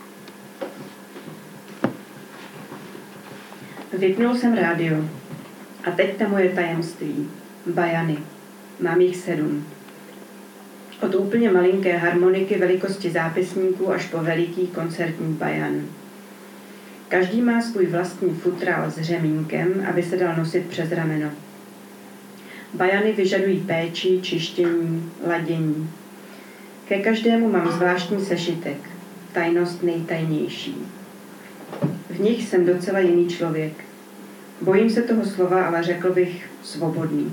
Vypnul jsem rádio. A teď ta moje tajemství. Bajany. Mám jich sedm. Od úplně malinké harmoniky velikosti zápisníků až po veliký koncertní bajan. Každý má svůj vlastní futrál s řemínkem, aby se dal nosit přes rameno. Bajany vyžadují péči, čištění, ladění. Ke každému mám zvláštní sešitek. Tajnost nejtajnější. V nich jsem docela jiný člověk. Bojím se toho slova, ale řekl bych svobodný.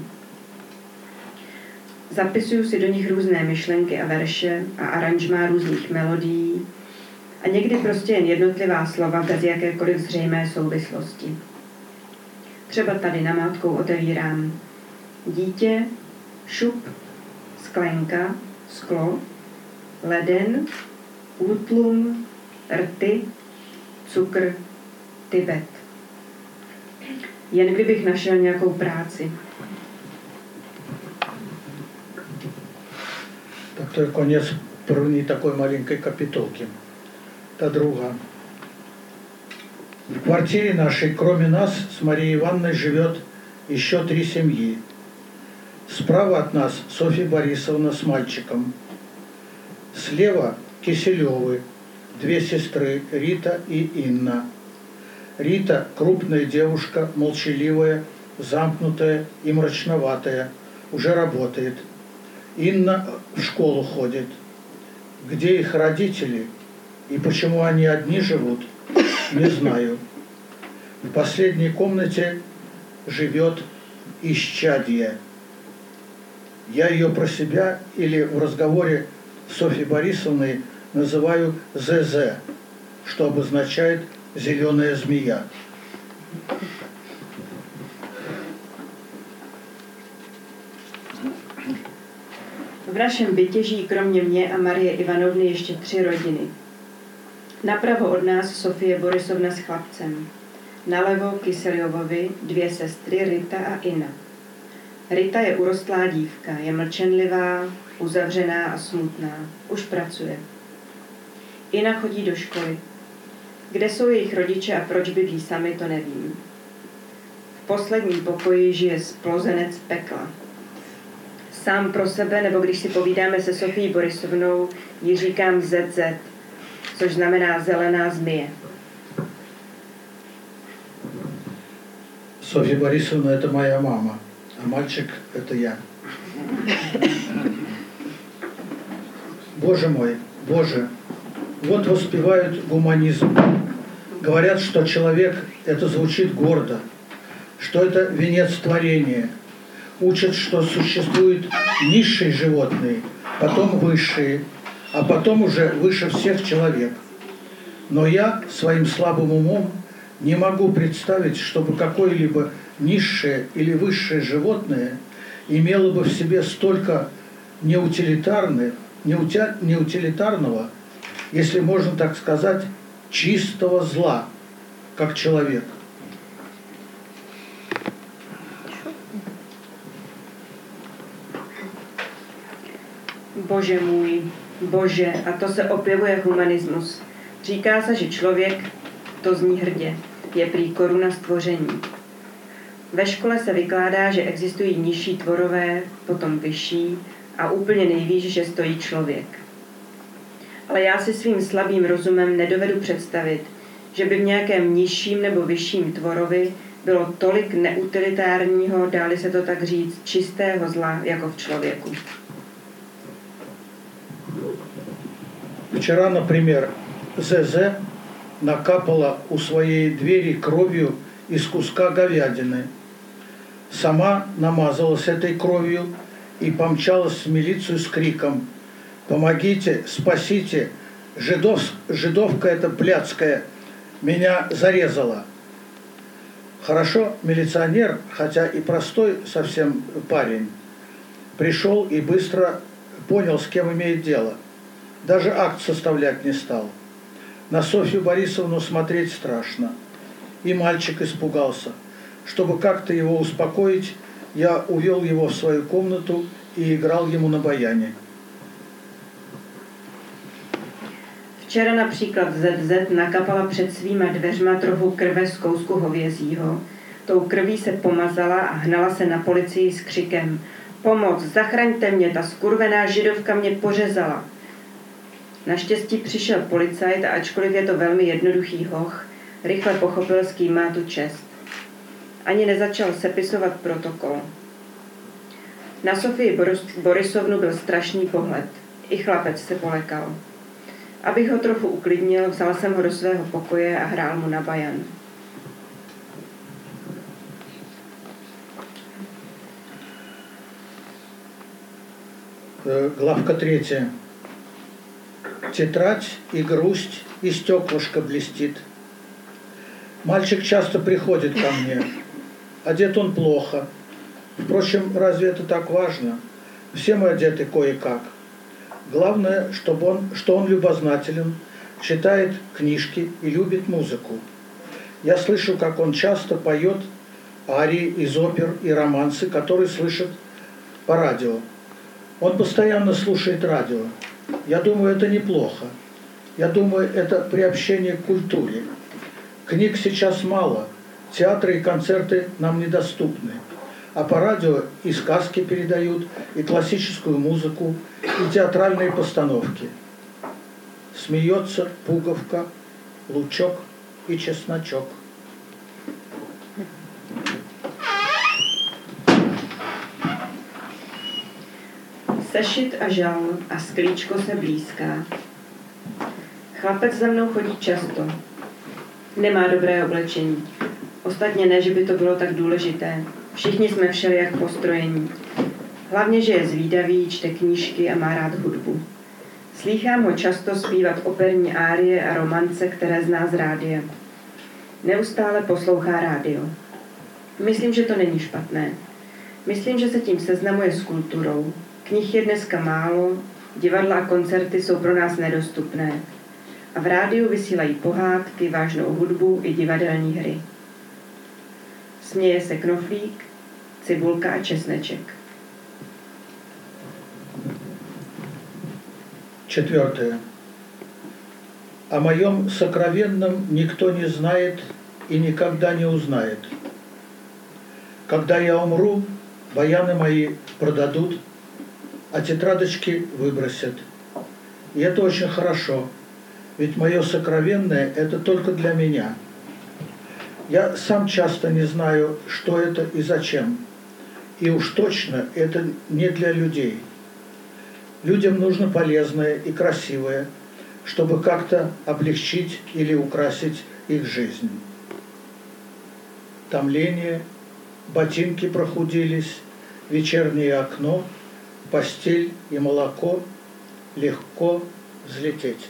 Zapisuju si do nich různé myšlenky a verše a aranžmá různých melodií a někdy prostě jen jednotlivá slova bez jakékoliv zřejmé souvislosti. Třeba tady namátkou otevírám dítě, šup, sklenka, sklo, leden, útlum, rty, cukr, Tibet. Jen kdybych našel nějakou práci. Так то je konec první takové malinké kapitolky. Ta druhá. В квартире нашей, кроме нас, с Марией Ивановной живет еще три семьи. Справа от нас Софья Борисовна с мальчиком. Слева Киселевы, две сестры, Рита и Инна. Рита – крупная девушка, молчаливая, замкнутая и мрачноватая, уже работает. Инна в школу ходит. Где их родители и почему они одни живут, не знаю. В последней комнате живет исчадье. Я ее про себя или в разговоре с Софьей Борисовной называю ЗЗ, что обозначает «зеленая змея». V našem bytě žijí kromě mě a Marie Ivanovny ještě tři rodiny. Napravo od nás Sofie Borisovna s chlapcem. Nalevo Kyseljovovi dvě sestry Rita a Ina. Rita je urostlá dívka, je mlčenlivá, uzavřená a smutná. Už pracuje. Ina chodí do školy. Kde jsou jejich rodiče a proč bydlí sami, to nevím. V posledním pokoji žije splozenec pekla. Sám pro sebe, nebo když si povídáme se Sofií Borisovnou, ji říkám zet zet, což znamená zelená zmije. Софья Борисовна – это моя мама, а мальчик – это я. Боже мой, Боже, вот воспевают гуманизм. Говорят, что человек – это звучит гордо, что это венец творения. Учат, что существуют низшие животные, потом высшие, а потом уже выше всех человек. Но я своим слабым умом не могу представить, чтобы какое-либо низшее или высшее животное имело бы в себе столько неутилитарных, неутя, неутилитарного, если можно так сказать, чистого зла, как человек. Bože můj, Bože, a to se objevuje humanismus. Říká se, že člověk, to zní hrdě, je prý koruna stvoření. Ve škole se vykládá, že existují nižší tvorové, potom vyšší a úplně nejvýš, že stojí člověk. Ale já si svým slabým rozumem nedovedu představit, že by v nějakém nižším nebo vyšším tvorovi bylo tolik neutilitárního, dá-li se to tak říct, čistého zla, jako v člověku. Вчера, например, ЗЗ накапала у своей двери кровью из куска говядины. Сама намазалась этой кровью и помчалась в милицию с криком: «Помогите, спасите! Жидов, жидовка эта блядская меня зарезала!» Хорошо, милиционер, хотя и простой совсем парень, пришел и быстро понял, с кем имеет дело. Даже акт составлять не стал. На Софью Борисовну смотреть страшно. И мальчик испугался. Чтобы как-то его успокоить, я увел его в свою комнату и играл ему на баяне. Včera například zet zet nakapala před svýma dveřma trochu krve z kousku hovězího. Tou krví se pomazala a hnala se na policii s křikem: Pomoc, zachraňte mě, ta skurvená židovka mě pořezala. Naštěstí přišel policajt a ačkoliv je to velmi jednoduchý hoch, rychle pochopil, s kým má tu čest. Ani nezačal sepisovat protokol. Na Sofii Borisovnu byl strašný pohled. I chlapec se polekal. Abych ho trochu uklidnil, vzal jsem ho do svého pokoje a hrál mu na bajan. Главка третья. Тетрадь и грусть, и стеклышко блестит. Мальчик часто приходит ко мне. Одет он плохо. Впрочем, разве это так важно? Все мы одеты кое-как. Главное, чтобы он, что он любознателен, читает книжки и любит музыку. Я слышу, как он часто поет арии из опер и романсы, которые слышит по радио. Он постоянно слушает радио. Я думаю, это неплохо. Я думаю, это приобщение к культуре. Книг сейчас мало, театры и концерты нам недоступны. А по радио и сказки передают, и классическую музыку, и театральные постановки. Смеется пуговка, лучок и чесночок. Sešit a žal a sklíčko se blízká. Chlapec za mnou chodí často. Nemá dobré oblečení. Ostatně ne, že by to bylo tak důležité. Všichni jsme všelijak postrojení. Hlavně, že je zvídavý, čte knížky a má rád hudbu. Slýchám ho často zpívat operní árie a romance, které zná z rádia. Neustále poslouchá rádio. Myslím, že to není špatné. Myslím, že se tím seznamuje s kulturou. Knih je dneska málo, divadla a koncerty jsou pro nás nedostupné. A v rádiu vysílají pohádky, vážnou hudbu i divadelní hry. Směje se knoflík, cibulka a česneček. Четвертое. О моем сокровенном никто не знает и никогда не узнает. Когда я умру, баяны мои продадут, а тетрадочки выбросят. И это очень хорошо, ведь мое сокровенное – это только для меня. Я сам часто не знаю, что это и зачем. И уж точно это не для людей. Людям нужно полезное и красивое, чтобы как-то облегчить или украсить их жизнь. Томление, ботинки прохудились, вечернее окно, постель и молоко, легко взлететь.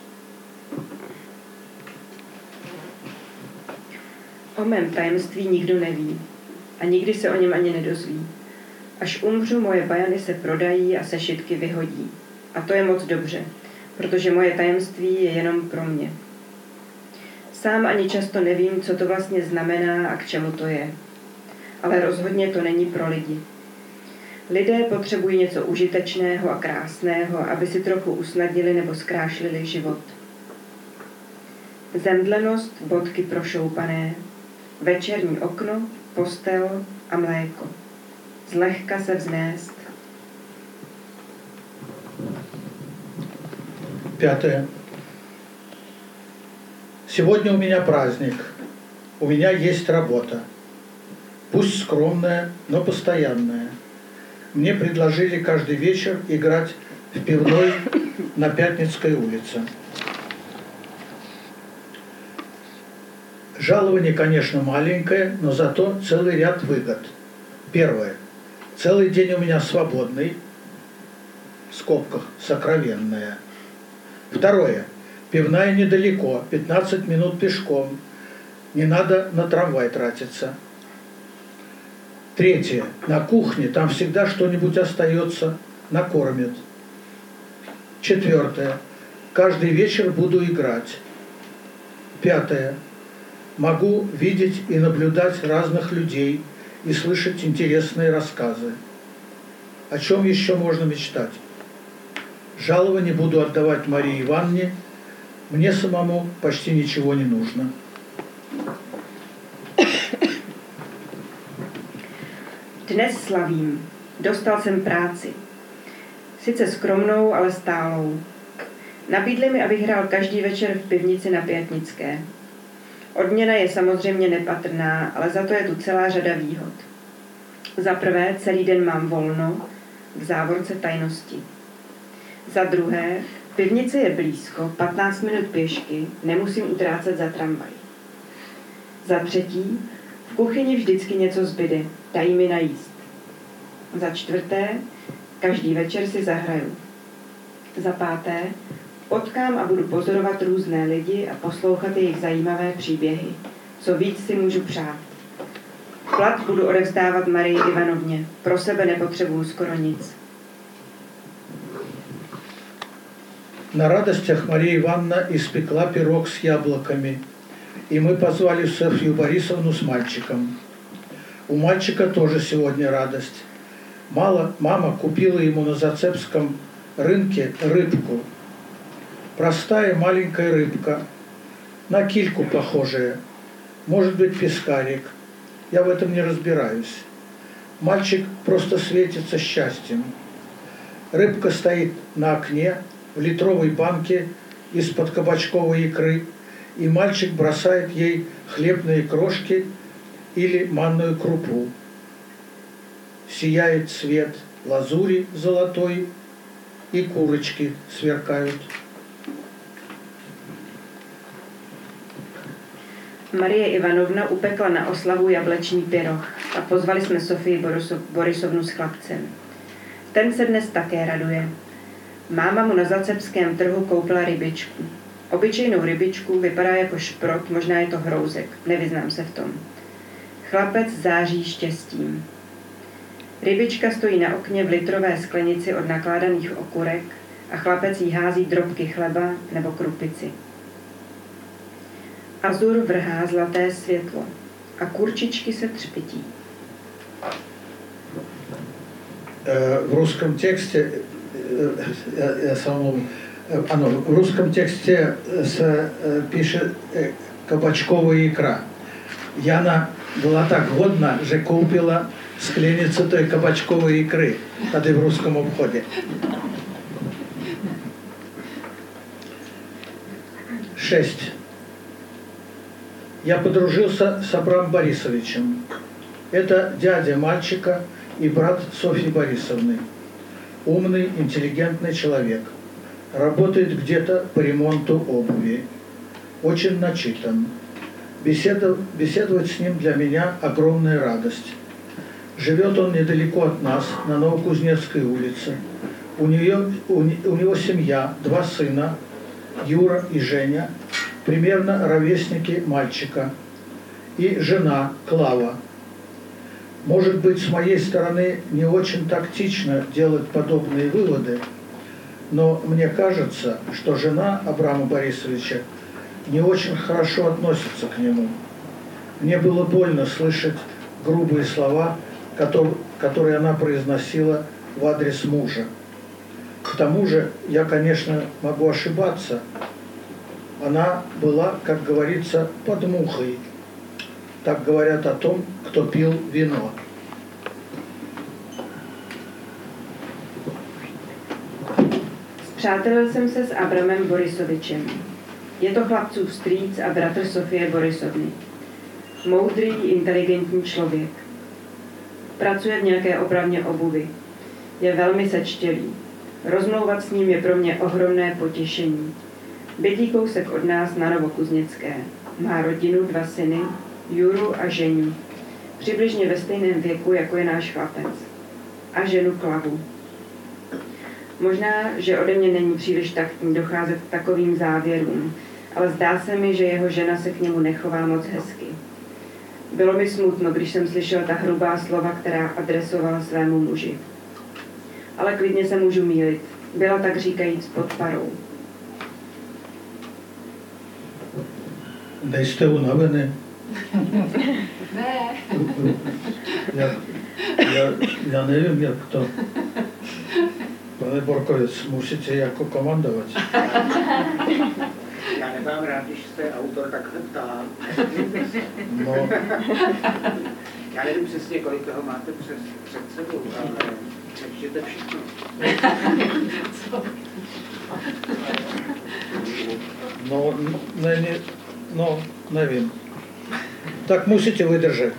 O mém tajemství nikdo neví a nikdy se o něm ani nedozví. Až umřu, moje bajany se prodají a sešitky vyhodí. A to je moc dobře, protože moje tajemství je jenom pro mě. Sám ani často nevím, co to vlastně znamená a k čemu to je. Ale rozhodně to není pro lidi. Lidé potřebují něco užitečného a krásného, aby si trochu usnadnili nebo zkrášlili život. Zemdlenost, bodky prošoupané, večerní okno, postel a mléko. Zlehka se vznést. Пятое. Сегодня у меня праздник. У меня есть работа. Пусть скромная, но постоянная. Мне предложили каждый вечер играть в пивной на Пятницкой улице. Жалование, конечно, маленькое, но зато целый ряд выгод. Первое. Целый день у меня свободный, в скобках, сокровенная. Второе. Пивная недалеко, пятнадцать минут пешком. Не надо на трамвай тратиться. Третье. На кухне там всегда что-нибудь остается, накормят. Четвертое. Каждый вечер буду играть. Пятое. Могу видеть и наблюдать разных людей и слышать интересные рассказы. О чем еще можно мечтать? Жалование буду отдавать Марии Ивановне. Мне самому почти ничего не нужно. Dnes slavím. Dostal jsem práci. Sice skromnou, ale stálou. Nabídli mi, abych hrál každý večer v pivnici na Pětnické. Odměna je samozřejmě nepatrná, ale za to je tu celá řada výhod. Za prvé, celý den mám volno, v závorce tajnosti. Za druhé, pivnice je blízko, patnáct minut pěšky, nemusím utrácet za tramvaj. Za třetí, v kuchyni vždycky něco zbyde, dají mi najíst. Za čtvrté, každý večer si zahraju. Za páté, potkám a budu pozorovat různé lidi a poslouchat jejich zajímavé příběhy. Co víc si můžu přát. Plat budu odevzdávat Marii Ivanovně. Pro sebe nepotřebuju skoro nic. На радостях Мария Ивановна испекла пирог с яблоками, и мы позвали Софью Борисовну с мальчиком. У мальчика тоже сегодня радость. Мало, мама купила ему на Зацепском рынке рыбку. Простая маленькая рыбка, на кильку похожая, может быть пескарик. Я в этом не разбираюсь. Мальчик просто светится счастьем. Рыбка стоит на окне в литровой банке из-под кабачковой икры, и мальчик бросает ей хлебные крошки или манную крупу. Сияет цвет лазури золотой, и курочки сверкают. Marie Ivanovna upekla na oslavu jablečný pyroch a pozvali jsme Sofii Borisovnu s chlapcem. Ten se dnes také raduje. Máma mu na Zacepském trhu koupila rybičku. Obyčejnou rybičku, vypadá jako šprot, možná je to hrouzek, nevyznám se v tom. Chlapec září štěstím. Rybička stojí na okně v litrové sklenici od nakládaných okurek a chlapec jí hází drobky chleba nebo krupici. Azur vrhá zlaté světlo a kurčičky se třpití. В русском тексте, я, я самому, оно, в русском тексте се пише кабачковая икра. Яна была так годна, že купила склениcu той кабачковой икры, tady v русском обходе. Шесть. я подружился с Абрамом Борисовичем. Это дядя мальчика и брат Софьи Борисовны. Умный, интеллигентный человек. Работает где-то по ремонту обуви. Очень начитан. Беседов, беседовать с ним для меня огромная радость. Живет он недалеко от нас, на Новокузнецкой улице. У, нее, у, у него семья, два сына, Юра и Женя, примерно ровесники мальчика, и жена Клава. Может быть, с моей стороны не очень тактично делать подобные выводы, но мне кажется, что жена Абрама Борисовича не очень хорошо относится к нему. Мне было больно слышать грубые слова, которые она произносила в адрес мужа. К тому же, я, конечно, могу ошибаться. Она была, как говорится, под мухой. Так говорят о том, кто пил вино. Spřátelil jsem se s Abramem Borisovičem. Je to chlapcův strýc a bratr Sofie Borisovny. Moudrý, inteligentní člověk. Pracuje v nějaké opravně obuvy. Je velmi sečtělý. Rozmlouvat s ním je pro mě ohromné potěšení. Bydlí kousek od nás na Novokuzněcké. Má rodinu, dva syny, Juru a Ženiu. Přibližně ve stejném věku, jako je náš chlapec. A ženu Klavu. Možná, že ode mě není příliš taktní docházet k takovým závěrům, ale zdá se mi, že jeho žena se k němu nechová moc hezky. Bylo mi smutno, když jsem slyšel ta hrubá slova, která adresovala svému muži. Ale klidně se můžu mýlit. Byla tak říkajíc pod parou. Nejste unavený? Ne. Já, já, já nevím, jak to. Pane Borkovec, musíte jako komandovat. Já nemám rád, když se autor takhle ptá. No. Já nevím přesně, kolik toho máte přes, před sebou, ale přečtěte všechno. No, ne, ne, no, nevím. Tak musíte vydržet.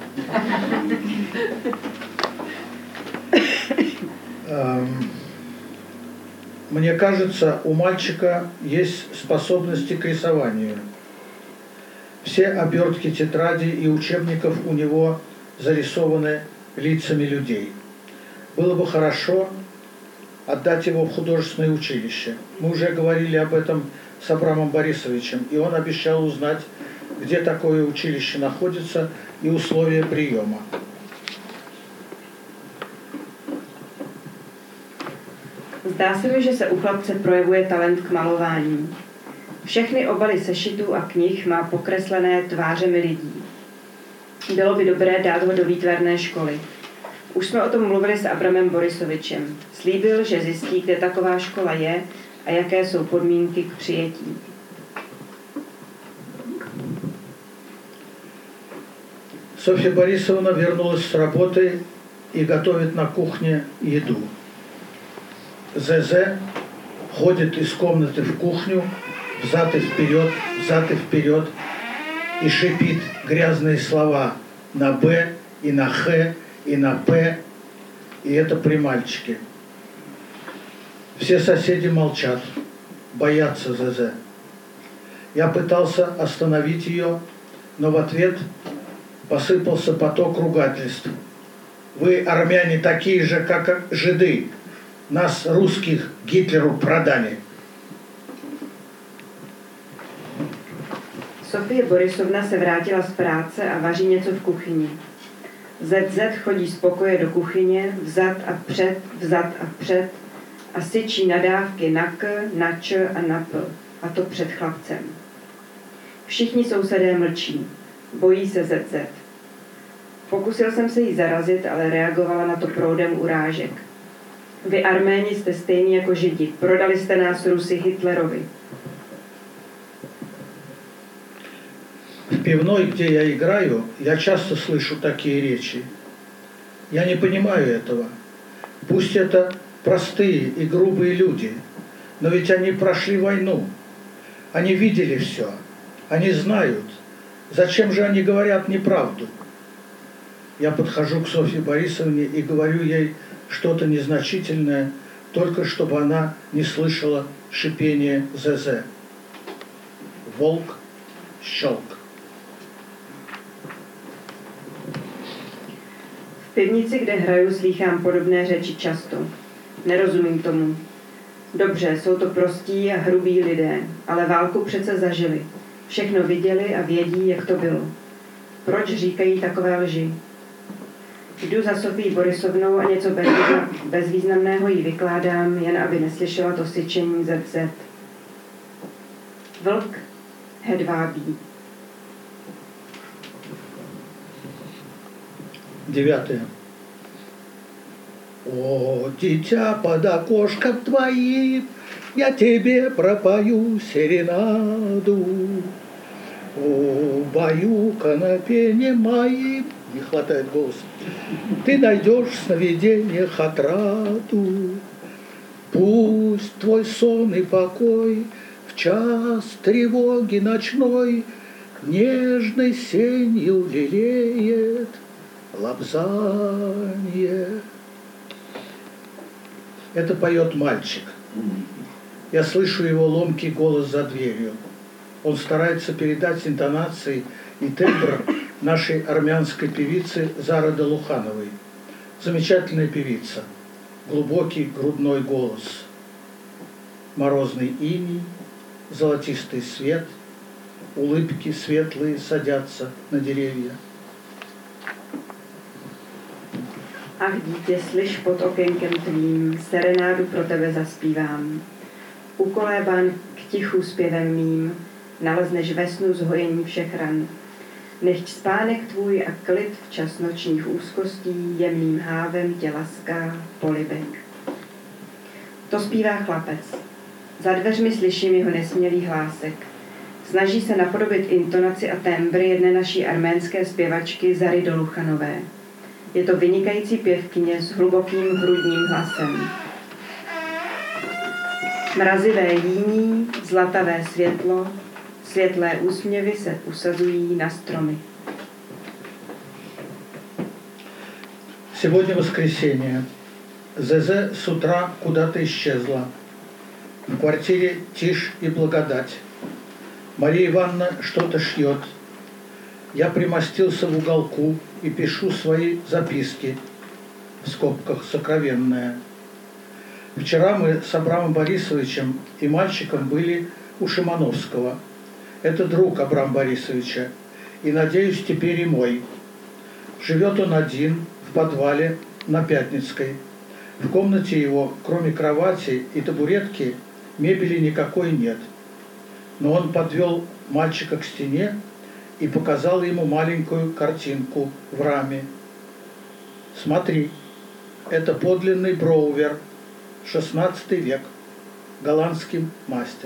Um, Мне кажется, у мальчика есть способности к рисованию. Все обертки тетрадей и учебников у него зарисованы лицами людей. Было бы хорошо отдать его в художественное училище. Мы уже говорили об этом с Абрамом Борисовичем, и он обещал узнать, где такое училище находится и условия приема. Zdá se mi, že se u chlapce projevuje talent k malování. Všechny obaly sešitů a knih má pokreslené tvářemi lidí. Bylo by dobré dát ho do výtvarné školy. Už jsme o tom mluvili s Abramem Borisovičem. Slíbil, že zjistí, kde taková škola je a jaké jsou podmínky k přijetí. Софья Борисовна вернулась с работы и готовит на кухне еду. ЗЗ ходит из комнаты в кухню, взад и вперед, взад и вперед, и шипит грязные слова на «Б», и на «Х», и на «П», и это при мальчике. Все соседи молчат, боятся ЗЗ. Я пытался остановить ее, но в ответ посыпался поток ругательств. Вы, армяне, такие же, как жиды. Нас, русских, Гитлеру продали. Sofie Borisovna se vrátila z práce a vaří něco v kuchyni. zet zet chodí z pokoje do kuchyně, vzad a před, vzad a před a syčí nadávky na k, na č a na p, a to před chlapcem. Všichni sousedé mlčí, bojí se zet zet. Pokusil jsem se jí zarazit, ale reagovala na to proudem urážek. Vy, Arméni, jste stejní jako Židi. Prodali jste nás Rusy Hitlerovi. В пивной, где я играю, я часто слышу такие речи. Я не понимаю этого. Пусть это простые и грубые люди, но ведь они прошли войну. Они видели все. Они знают, Зачем же они говорят неправду? Я подхожу к Софье Борисовне и говорю ей что-то незначительное, только чтобы она не слышала шипение ЗЗ. Волк, щелк. V pivnici, kde hraju, slýchám podobné řeči často. Nerozumím tomu. Dobře, jsou to prostí a hrubí lidé, ale válku přece zažili. Všechno viděli a vědí, jak to bylo. Proč říkají takové lži? Jdu za Sofií Borisovnou a něco bezvýznamného jí vykládám, jen aby neslyšela to syčení zet zet. Vlk hedvábí. Девятое. О, дитя под окошком твоим, я тебе пропою серенаду. О, баюка на пене моим, не хватает голоса, ты найдешь в сновидениях отраду. Пусть твой сон и покой в час тревоги ночной нежной сенью лелеет лапзанье. Это поет мальчик. Я слышу его ломкий голос за дверью. Он старается передать интонации и тембр нашей армянской певицы Зары Долухановой. Замечательная певица. Глубокий грудной голос. Морозный иней, золотистый свет, улыбки светлые садятся на деревья. Ach dítě, slyš pod okénkem tvým, serenádu pro tebe zaspívám. Ukolébán k tichu zpěvem mým, nalezneš ve snu zhojení všech ran. Nechť spánek tvůj a klid včas nočních úzkostí jemným hávem tě laská polibek. To zpívá chlapec. Za dveřmi slyším jeho nesmělý hlásek. Snaží se napodobit intonaci a tembr jedné naší arménské zpěvačky Zary Doluchanové. Je to vynikající pěvkyně s hlubokým hrudním hlasem. Mrazivé jíní, zlatavé světlo, světlé úsměvy se usazují на стрomы. Сегодня воскресенье. ЗЗ с утра куда-то исчезла. В квартире тишь и благодать. Мария Ивановна что-то шьет. Я примостился в уголку и пишу свои записки, в скобках «сокровенные». Вчера мы с Абрамом Борисовичем и мальчиком были у Шимановского. Это друг Абрама Борисовича, и, надеюсь, теперь и мой. Живет он один в подвале на Пятницкой. В комнате его, кроме кровати и табуретки, мебели никакой нет. Но он подвел мальчика к стене и показал ему маленькую картинку в раме. Смотри, это подлинный Броувер, шестнадцатый век, голландский мастер.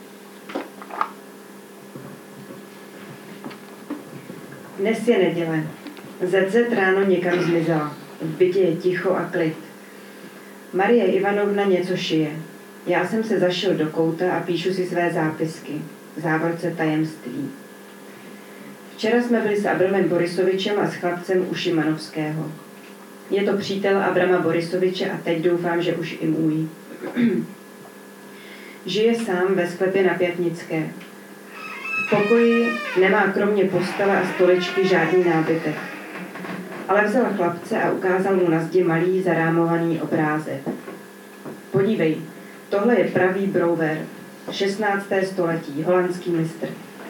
Dnes je neděle. zet zet ráno někam zmizela. V bytě je ticho a klid. Marie Ivanovna něco šije. Já jsem se zašel do kouta a píšu si své zápisky. V závorce tajemství. Včera jsme byli s Abramem Borisovičem a s chlapcem u Šimanovského. Je to přítel Abrama Borisoviče a teď doufám, že už i můj. Žije sám ve sklepě na Pětnické. V pokoji nemá kromě postele a stoličky žádný nábytek. Ale vzal chlapce a ukázal mu na zdi malý zarámovaný obrázek. Podívej, tohle je pravý Brouwer, šestnácté století, holandský mistr.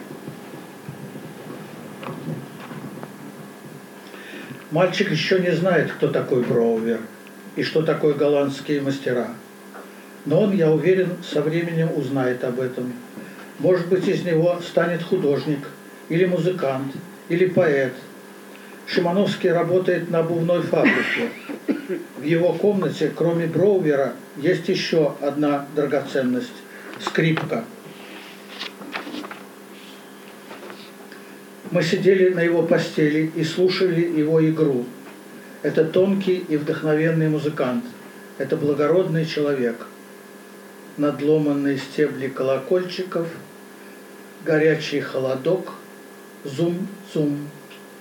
Мальчик еще не знает, кто такой Броувер и что такое голландские мастера. Но он, я уверен, со временем узнает об этом. Может быть, из него станет художник, или музыкант, или поэт. Шимановский работает на обувной фабрике. В его комнате, кроме Броувера, есть еще одна драгоценность – скрипка. Мы сидели на его постели и слушали его игру. Это тонкий и вдохновенный музыкант. Это благородный человек. Надломанные стебли колокольчиков, горячий холодок, Zum, zum.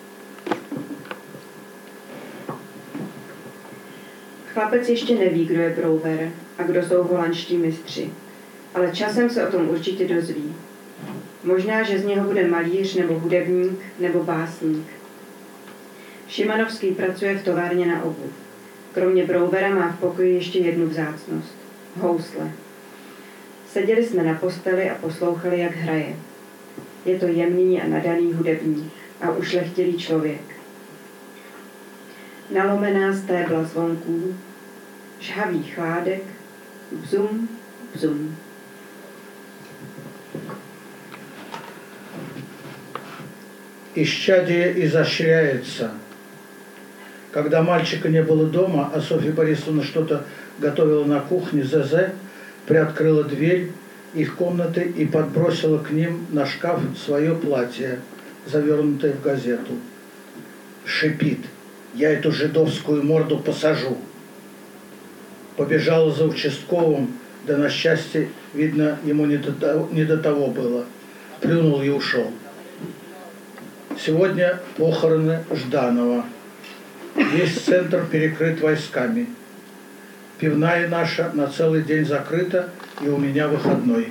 Chlapec ještě neví, kdo je Brouwer a kdo jsou holandští mistři, ale časem se o tom určitě dozví. Možná, že z něho bude malíř nebo hudebník nebo básník. Šimanovský pracuje v továrně na obuv. Kromě Brouwera má v pokoji ještě jednu vzácnost. Housle. Seděli jsme na posteli a poslouchali, jak hraje. Je to jemný a nadaný hudebník a ušlechtilý člověk. Nalomená stébla zvonků, žhavý chládek, bzum, bzum. Исчадие изощряется. Когда мальчика не было дома, а Софья Борисовна что-то готовила на кухне, ЗЗ приоткрыла дверь их комнаты и подбросила к ним на шкаф свое платье, завернутое в газету. Шипит: «Я эту жидовскую морду посажу». Побежала за участковым, да на счастье, видно, ему не до того, не до того было. Плюнул и ушел. Сегодня похороны Жданова. Весь центр перекрыт войсками. Пивная наша на целый день закрыта, и у меня выходной.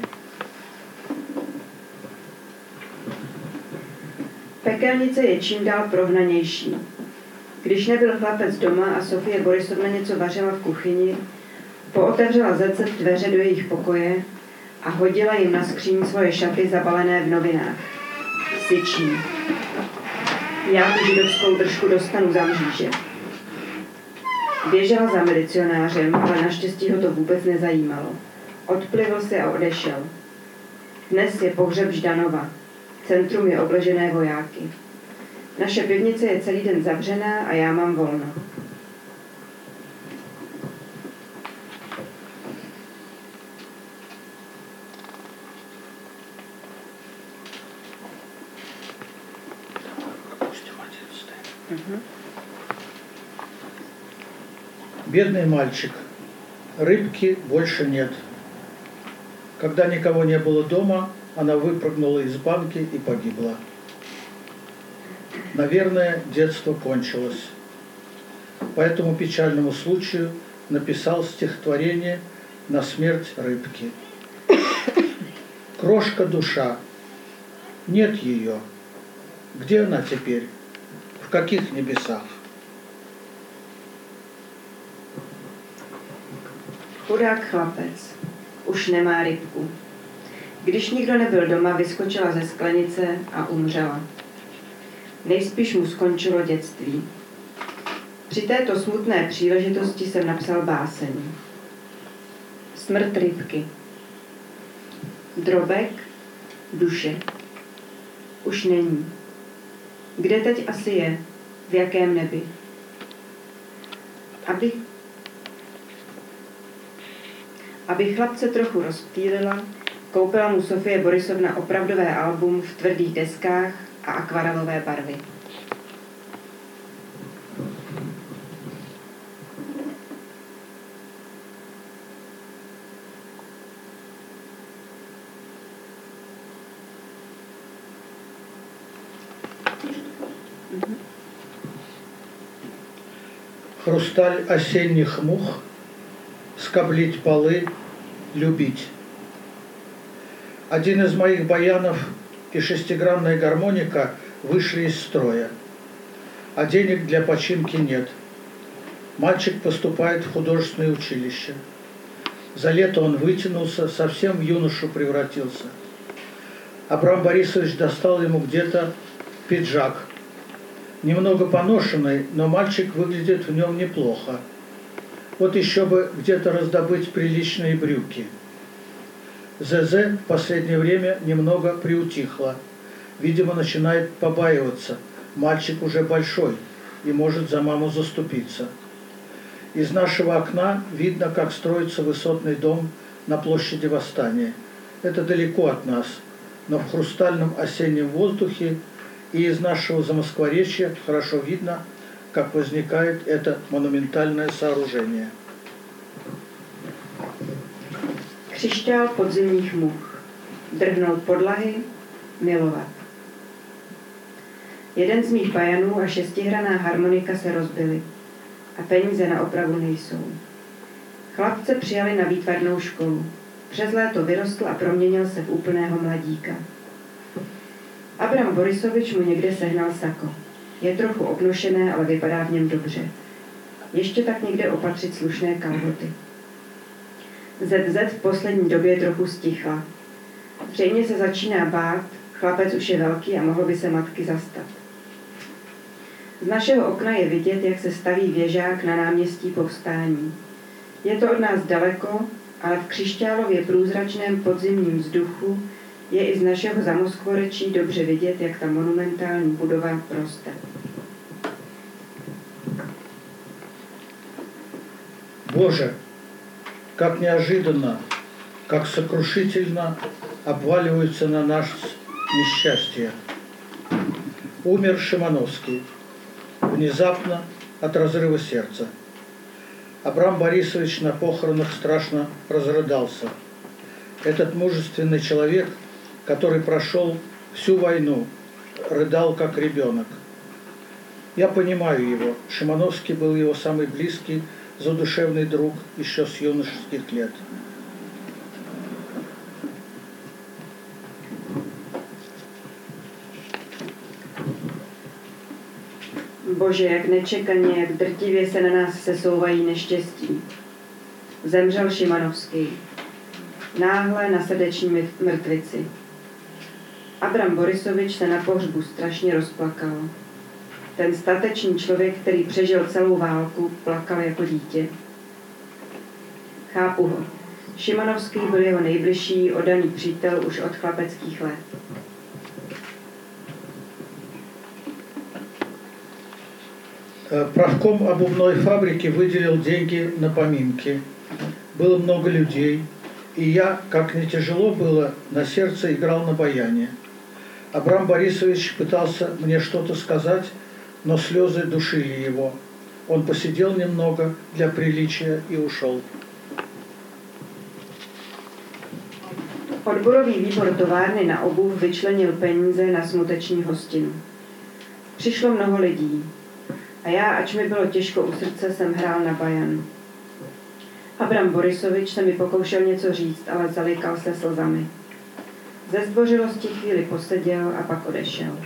Pekelnice je čím dál prohnanější. Když nebyl chlapec doma a Sofie Borisovna něco vařila v kuchyni, pootevřela zecet dveře do jejich pokoje a hodila jim na skříň svoje šaty zabalené v novinách. Syčí. Já tu židovskou držku dostanu za mříže. Běžela za milicionářem, ale naštěstí ho to vůbec nezajímalo. Odplivl se a odešel. Dnes je pohřeb Ždanova. Centrum je obležené vojáky. Naše pivnice je celý den zavřená a já mám volno. Угу. Бедный мальчик. Рыбки больше нет. Когда никого не было дома, она выпрыгнула из банки и погибла. Наверное, детство кончилось. По этому печальному случаю написал стихотворение «На смерть рыбки». Крошка душа. Нет ее. Где она теперь? В каких небесах? Chudák chlapec. Už nemá rybku. Když nikdo nebyl doma, vyskočila ze sklenice a umřela. Nejspíš mu skončilo dětství. Při této smutné příležitosti jsem napsal báseň. Smrt rybky. Drobek, duše. Už není. Kde teď asi je? V jakém nebi? Aby, aby chlapce trochu rozptýlila, koupila mu Sofie Borisovna opravdové album v tvrdých deskách a akvarelové barvy. Хрусталь осенних мух, скоблить полы, любить. Один из моих баянов и шестигранная гармоника вышли из строя, а денег для починки нет. Мальчик поступает в художественное училище. За лето он вытянулся, совсем в юношу превратился. Абрам Борисович достал ему где-то пиджак. Немного поношенный, но мальчик выглядит в нем неплохо. Вот еще бы где-то раздобыть приличные брюки. ЗЗ в последнее время немного приутихла. Видимо, начинает побаиваться. Мальчик уже большой и может за маму заступиться. Из нашего окна видно, как строится высотный дом на площади Восстания. Это далеко от нас, но в хрустальном осеннем воздухе и из нашего Замоскворечья хорошо видно, как возникает это монументальное сооружение. Křišťál podzimních much. Drhnout podlahy, milovat. Jeden z mých bajanů a šestihraná harmonika se rozbily a peníze na opravu nejsou. Chlapce přijali na výtvarnou školu. Přes léto vyrostl a proměnil se v úplného mladíka. Abram Borisovič mu někde sehnal sako. Je trochu obnošené, ale vypadá v něm dobře. Ještě tak někde opatřit slušné kalhoty. zet zet v poslední době trochu stichla. Zřejmě se začíná bát, chlapec už je velký a mohl by se matky zastat. Z našeho okna je vidět, jak se staví věžák na náměstí Povstání. Je to od nás daleko, ale v křišťálově průzračném podzimním vzduchu je i z našeho zamoskvorečí dobře vidět, jak ta monumentální budova roste. Боже, как неожиданно, как сокрушительно обваливаются на нас несчастья. Умер Шимановский, внезапно от разрыва сердца. Абрам Борисович на похоронах страшно разрыдался. Этот мужественный человек, который прошел всю войну, рыдал как ребенок. Я понимаю его. Шимановский был его самый близкий, задушевный друг еще с юношеских лет. Bože, jak nečekaně, jak drtivě se na nás sesouvají neštěstí. Zemřel Šimanovský. Náhle na srdeční mrtvici. Abram Borisovič se na pohřbu strašně rozplakal. Ten statečný člověk, který přežil celou válku, plakal jako dítě. Chápu ho. Šimanovský byl jeho nejbližší, oddaný přítel už od chlapeckých let. Правком обувной фабрики выделил деньги на поминки. Было много людей, и я, как не тяжело было, на сердце играл на баяне. Абрам Борисович пытался мне что-то сказать, но слезы душили его. Он посидел немного для приличия и ушел. Odborový výbor továrny na obuv vyčlenil peníze na smuteční hostinu. Přišlo mnoho lidí a já, ač mi bylo těžko u srdce, jsem hrál na bajan. Abram Borisovič se mi pokoušel něco říct, ale zalikal se slzami. Ze zdvořilosti chvíli poseděl a pak odešel.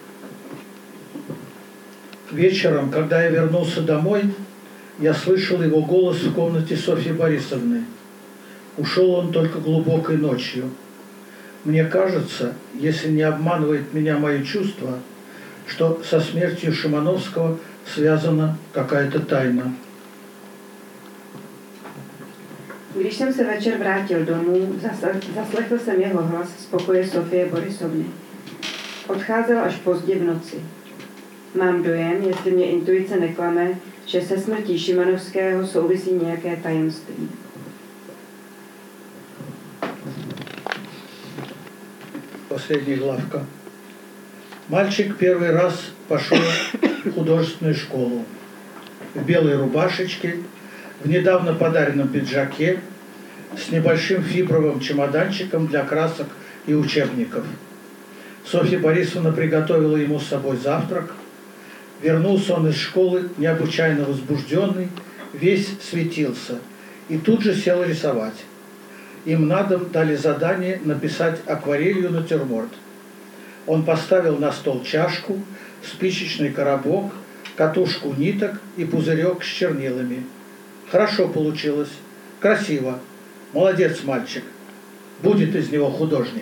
Вечером, когда я вернулся домой, я слышал его голос в комнате Софьи Борисовны. Ушел он только глубокой ночью. Мне кажется, если не обманывает меня мои чувства, что со смертью Шимановского связана какая-то тайна. Když jsem se večer vrátil domů, zaslechl jsem jeho hlas z pokoje Sofie Borisovny. Odcházel až pozdě v noci. Mám dojem, jestli mě intuice neklame, že se smrtí Šimanovského souvisí nějaké tajemství. Последняя главка. Мальчик первый раз пошел в художественную школу. В белой рубашечке, в недавно подаренном пиджаке, с небольшим фибровым чемоданчиком для красок и учебников. Софья Борисовна приготовила ему с собой завтрак. Вернулся он из школы необычайно возбужденный, весь светился, и тут же сел рисовать. Им на дом дали задание написать акварелью натюрморт. Он поставил на стол чашку, спичечный коробок, катушку ниток и пузырек с чернилами. Хорошо получилось, красиво. Молодец, мальчик. Будет из него художник.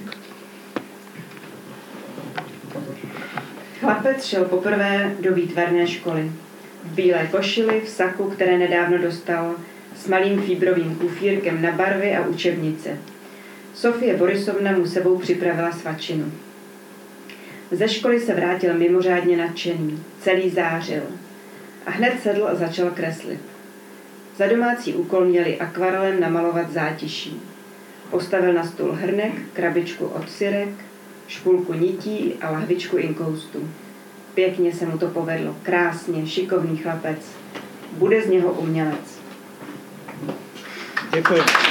Chlapec šel poprvé do výtvarné školy. V bílé košili, v saku, které nedávno dostal, s malým fíbrovým kufírkem na barvy a učebnice. Sofie Borisovna mu sebou připravila svačinu. Ze školy se vrátil mimořádně nadšený, celý zářil. A hned sedl a začal kreslit. Za domácí úkol měli akvarelem namalovat zátiší. Postavil na stůl hrnek, krabičku od syrek, špulku nití a lahvičku inkoustu. Pěkně se mu to povedlo, krásně, šikovný chlapec. Bude z něho umělec. Děkuji.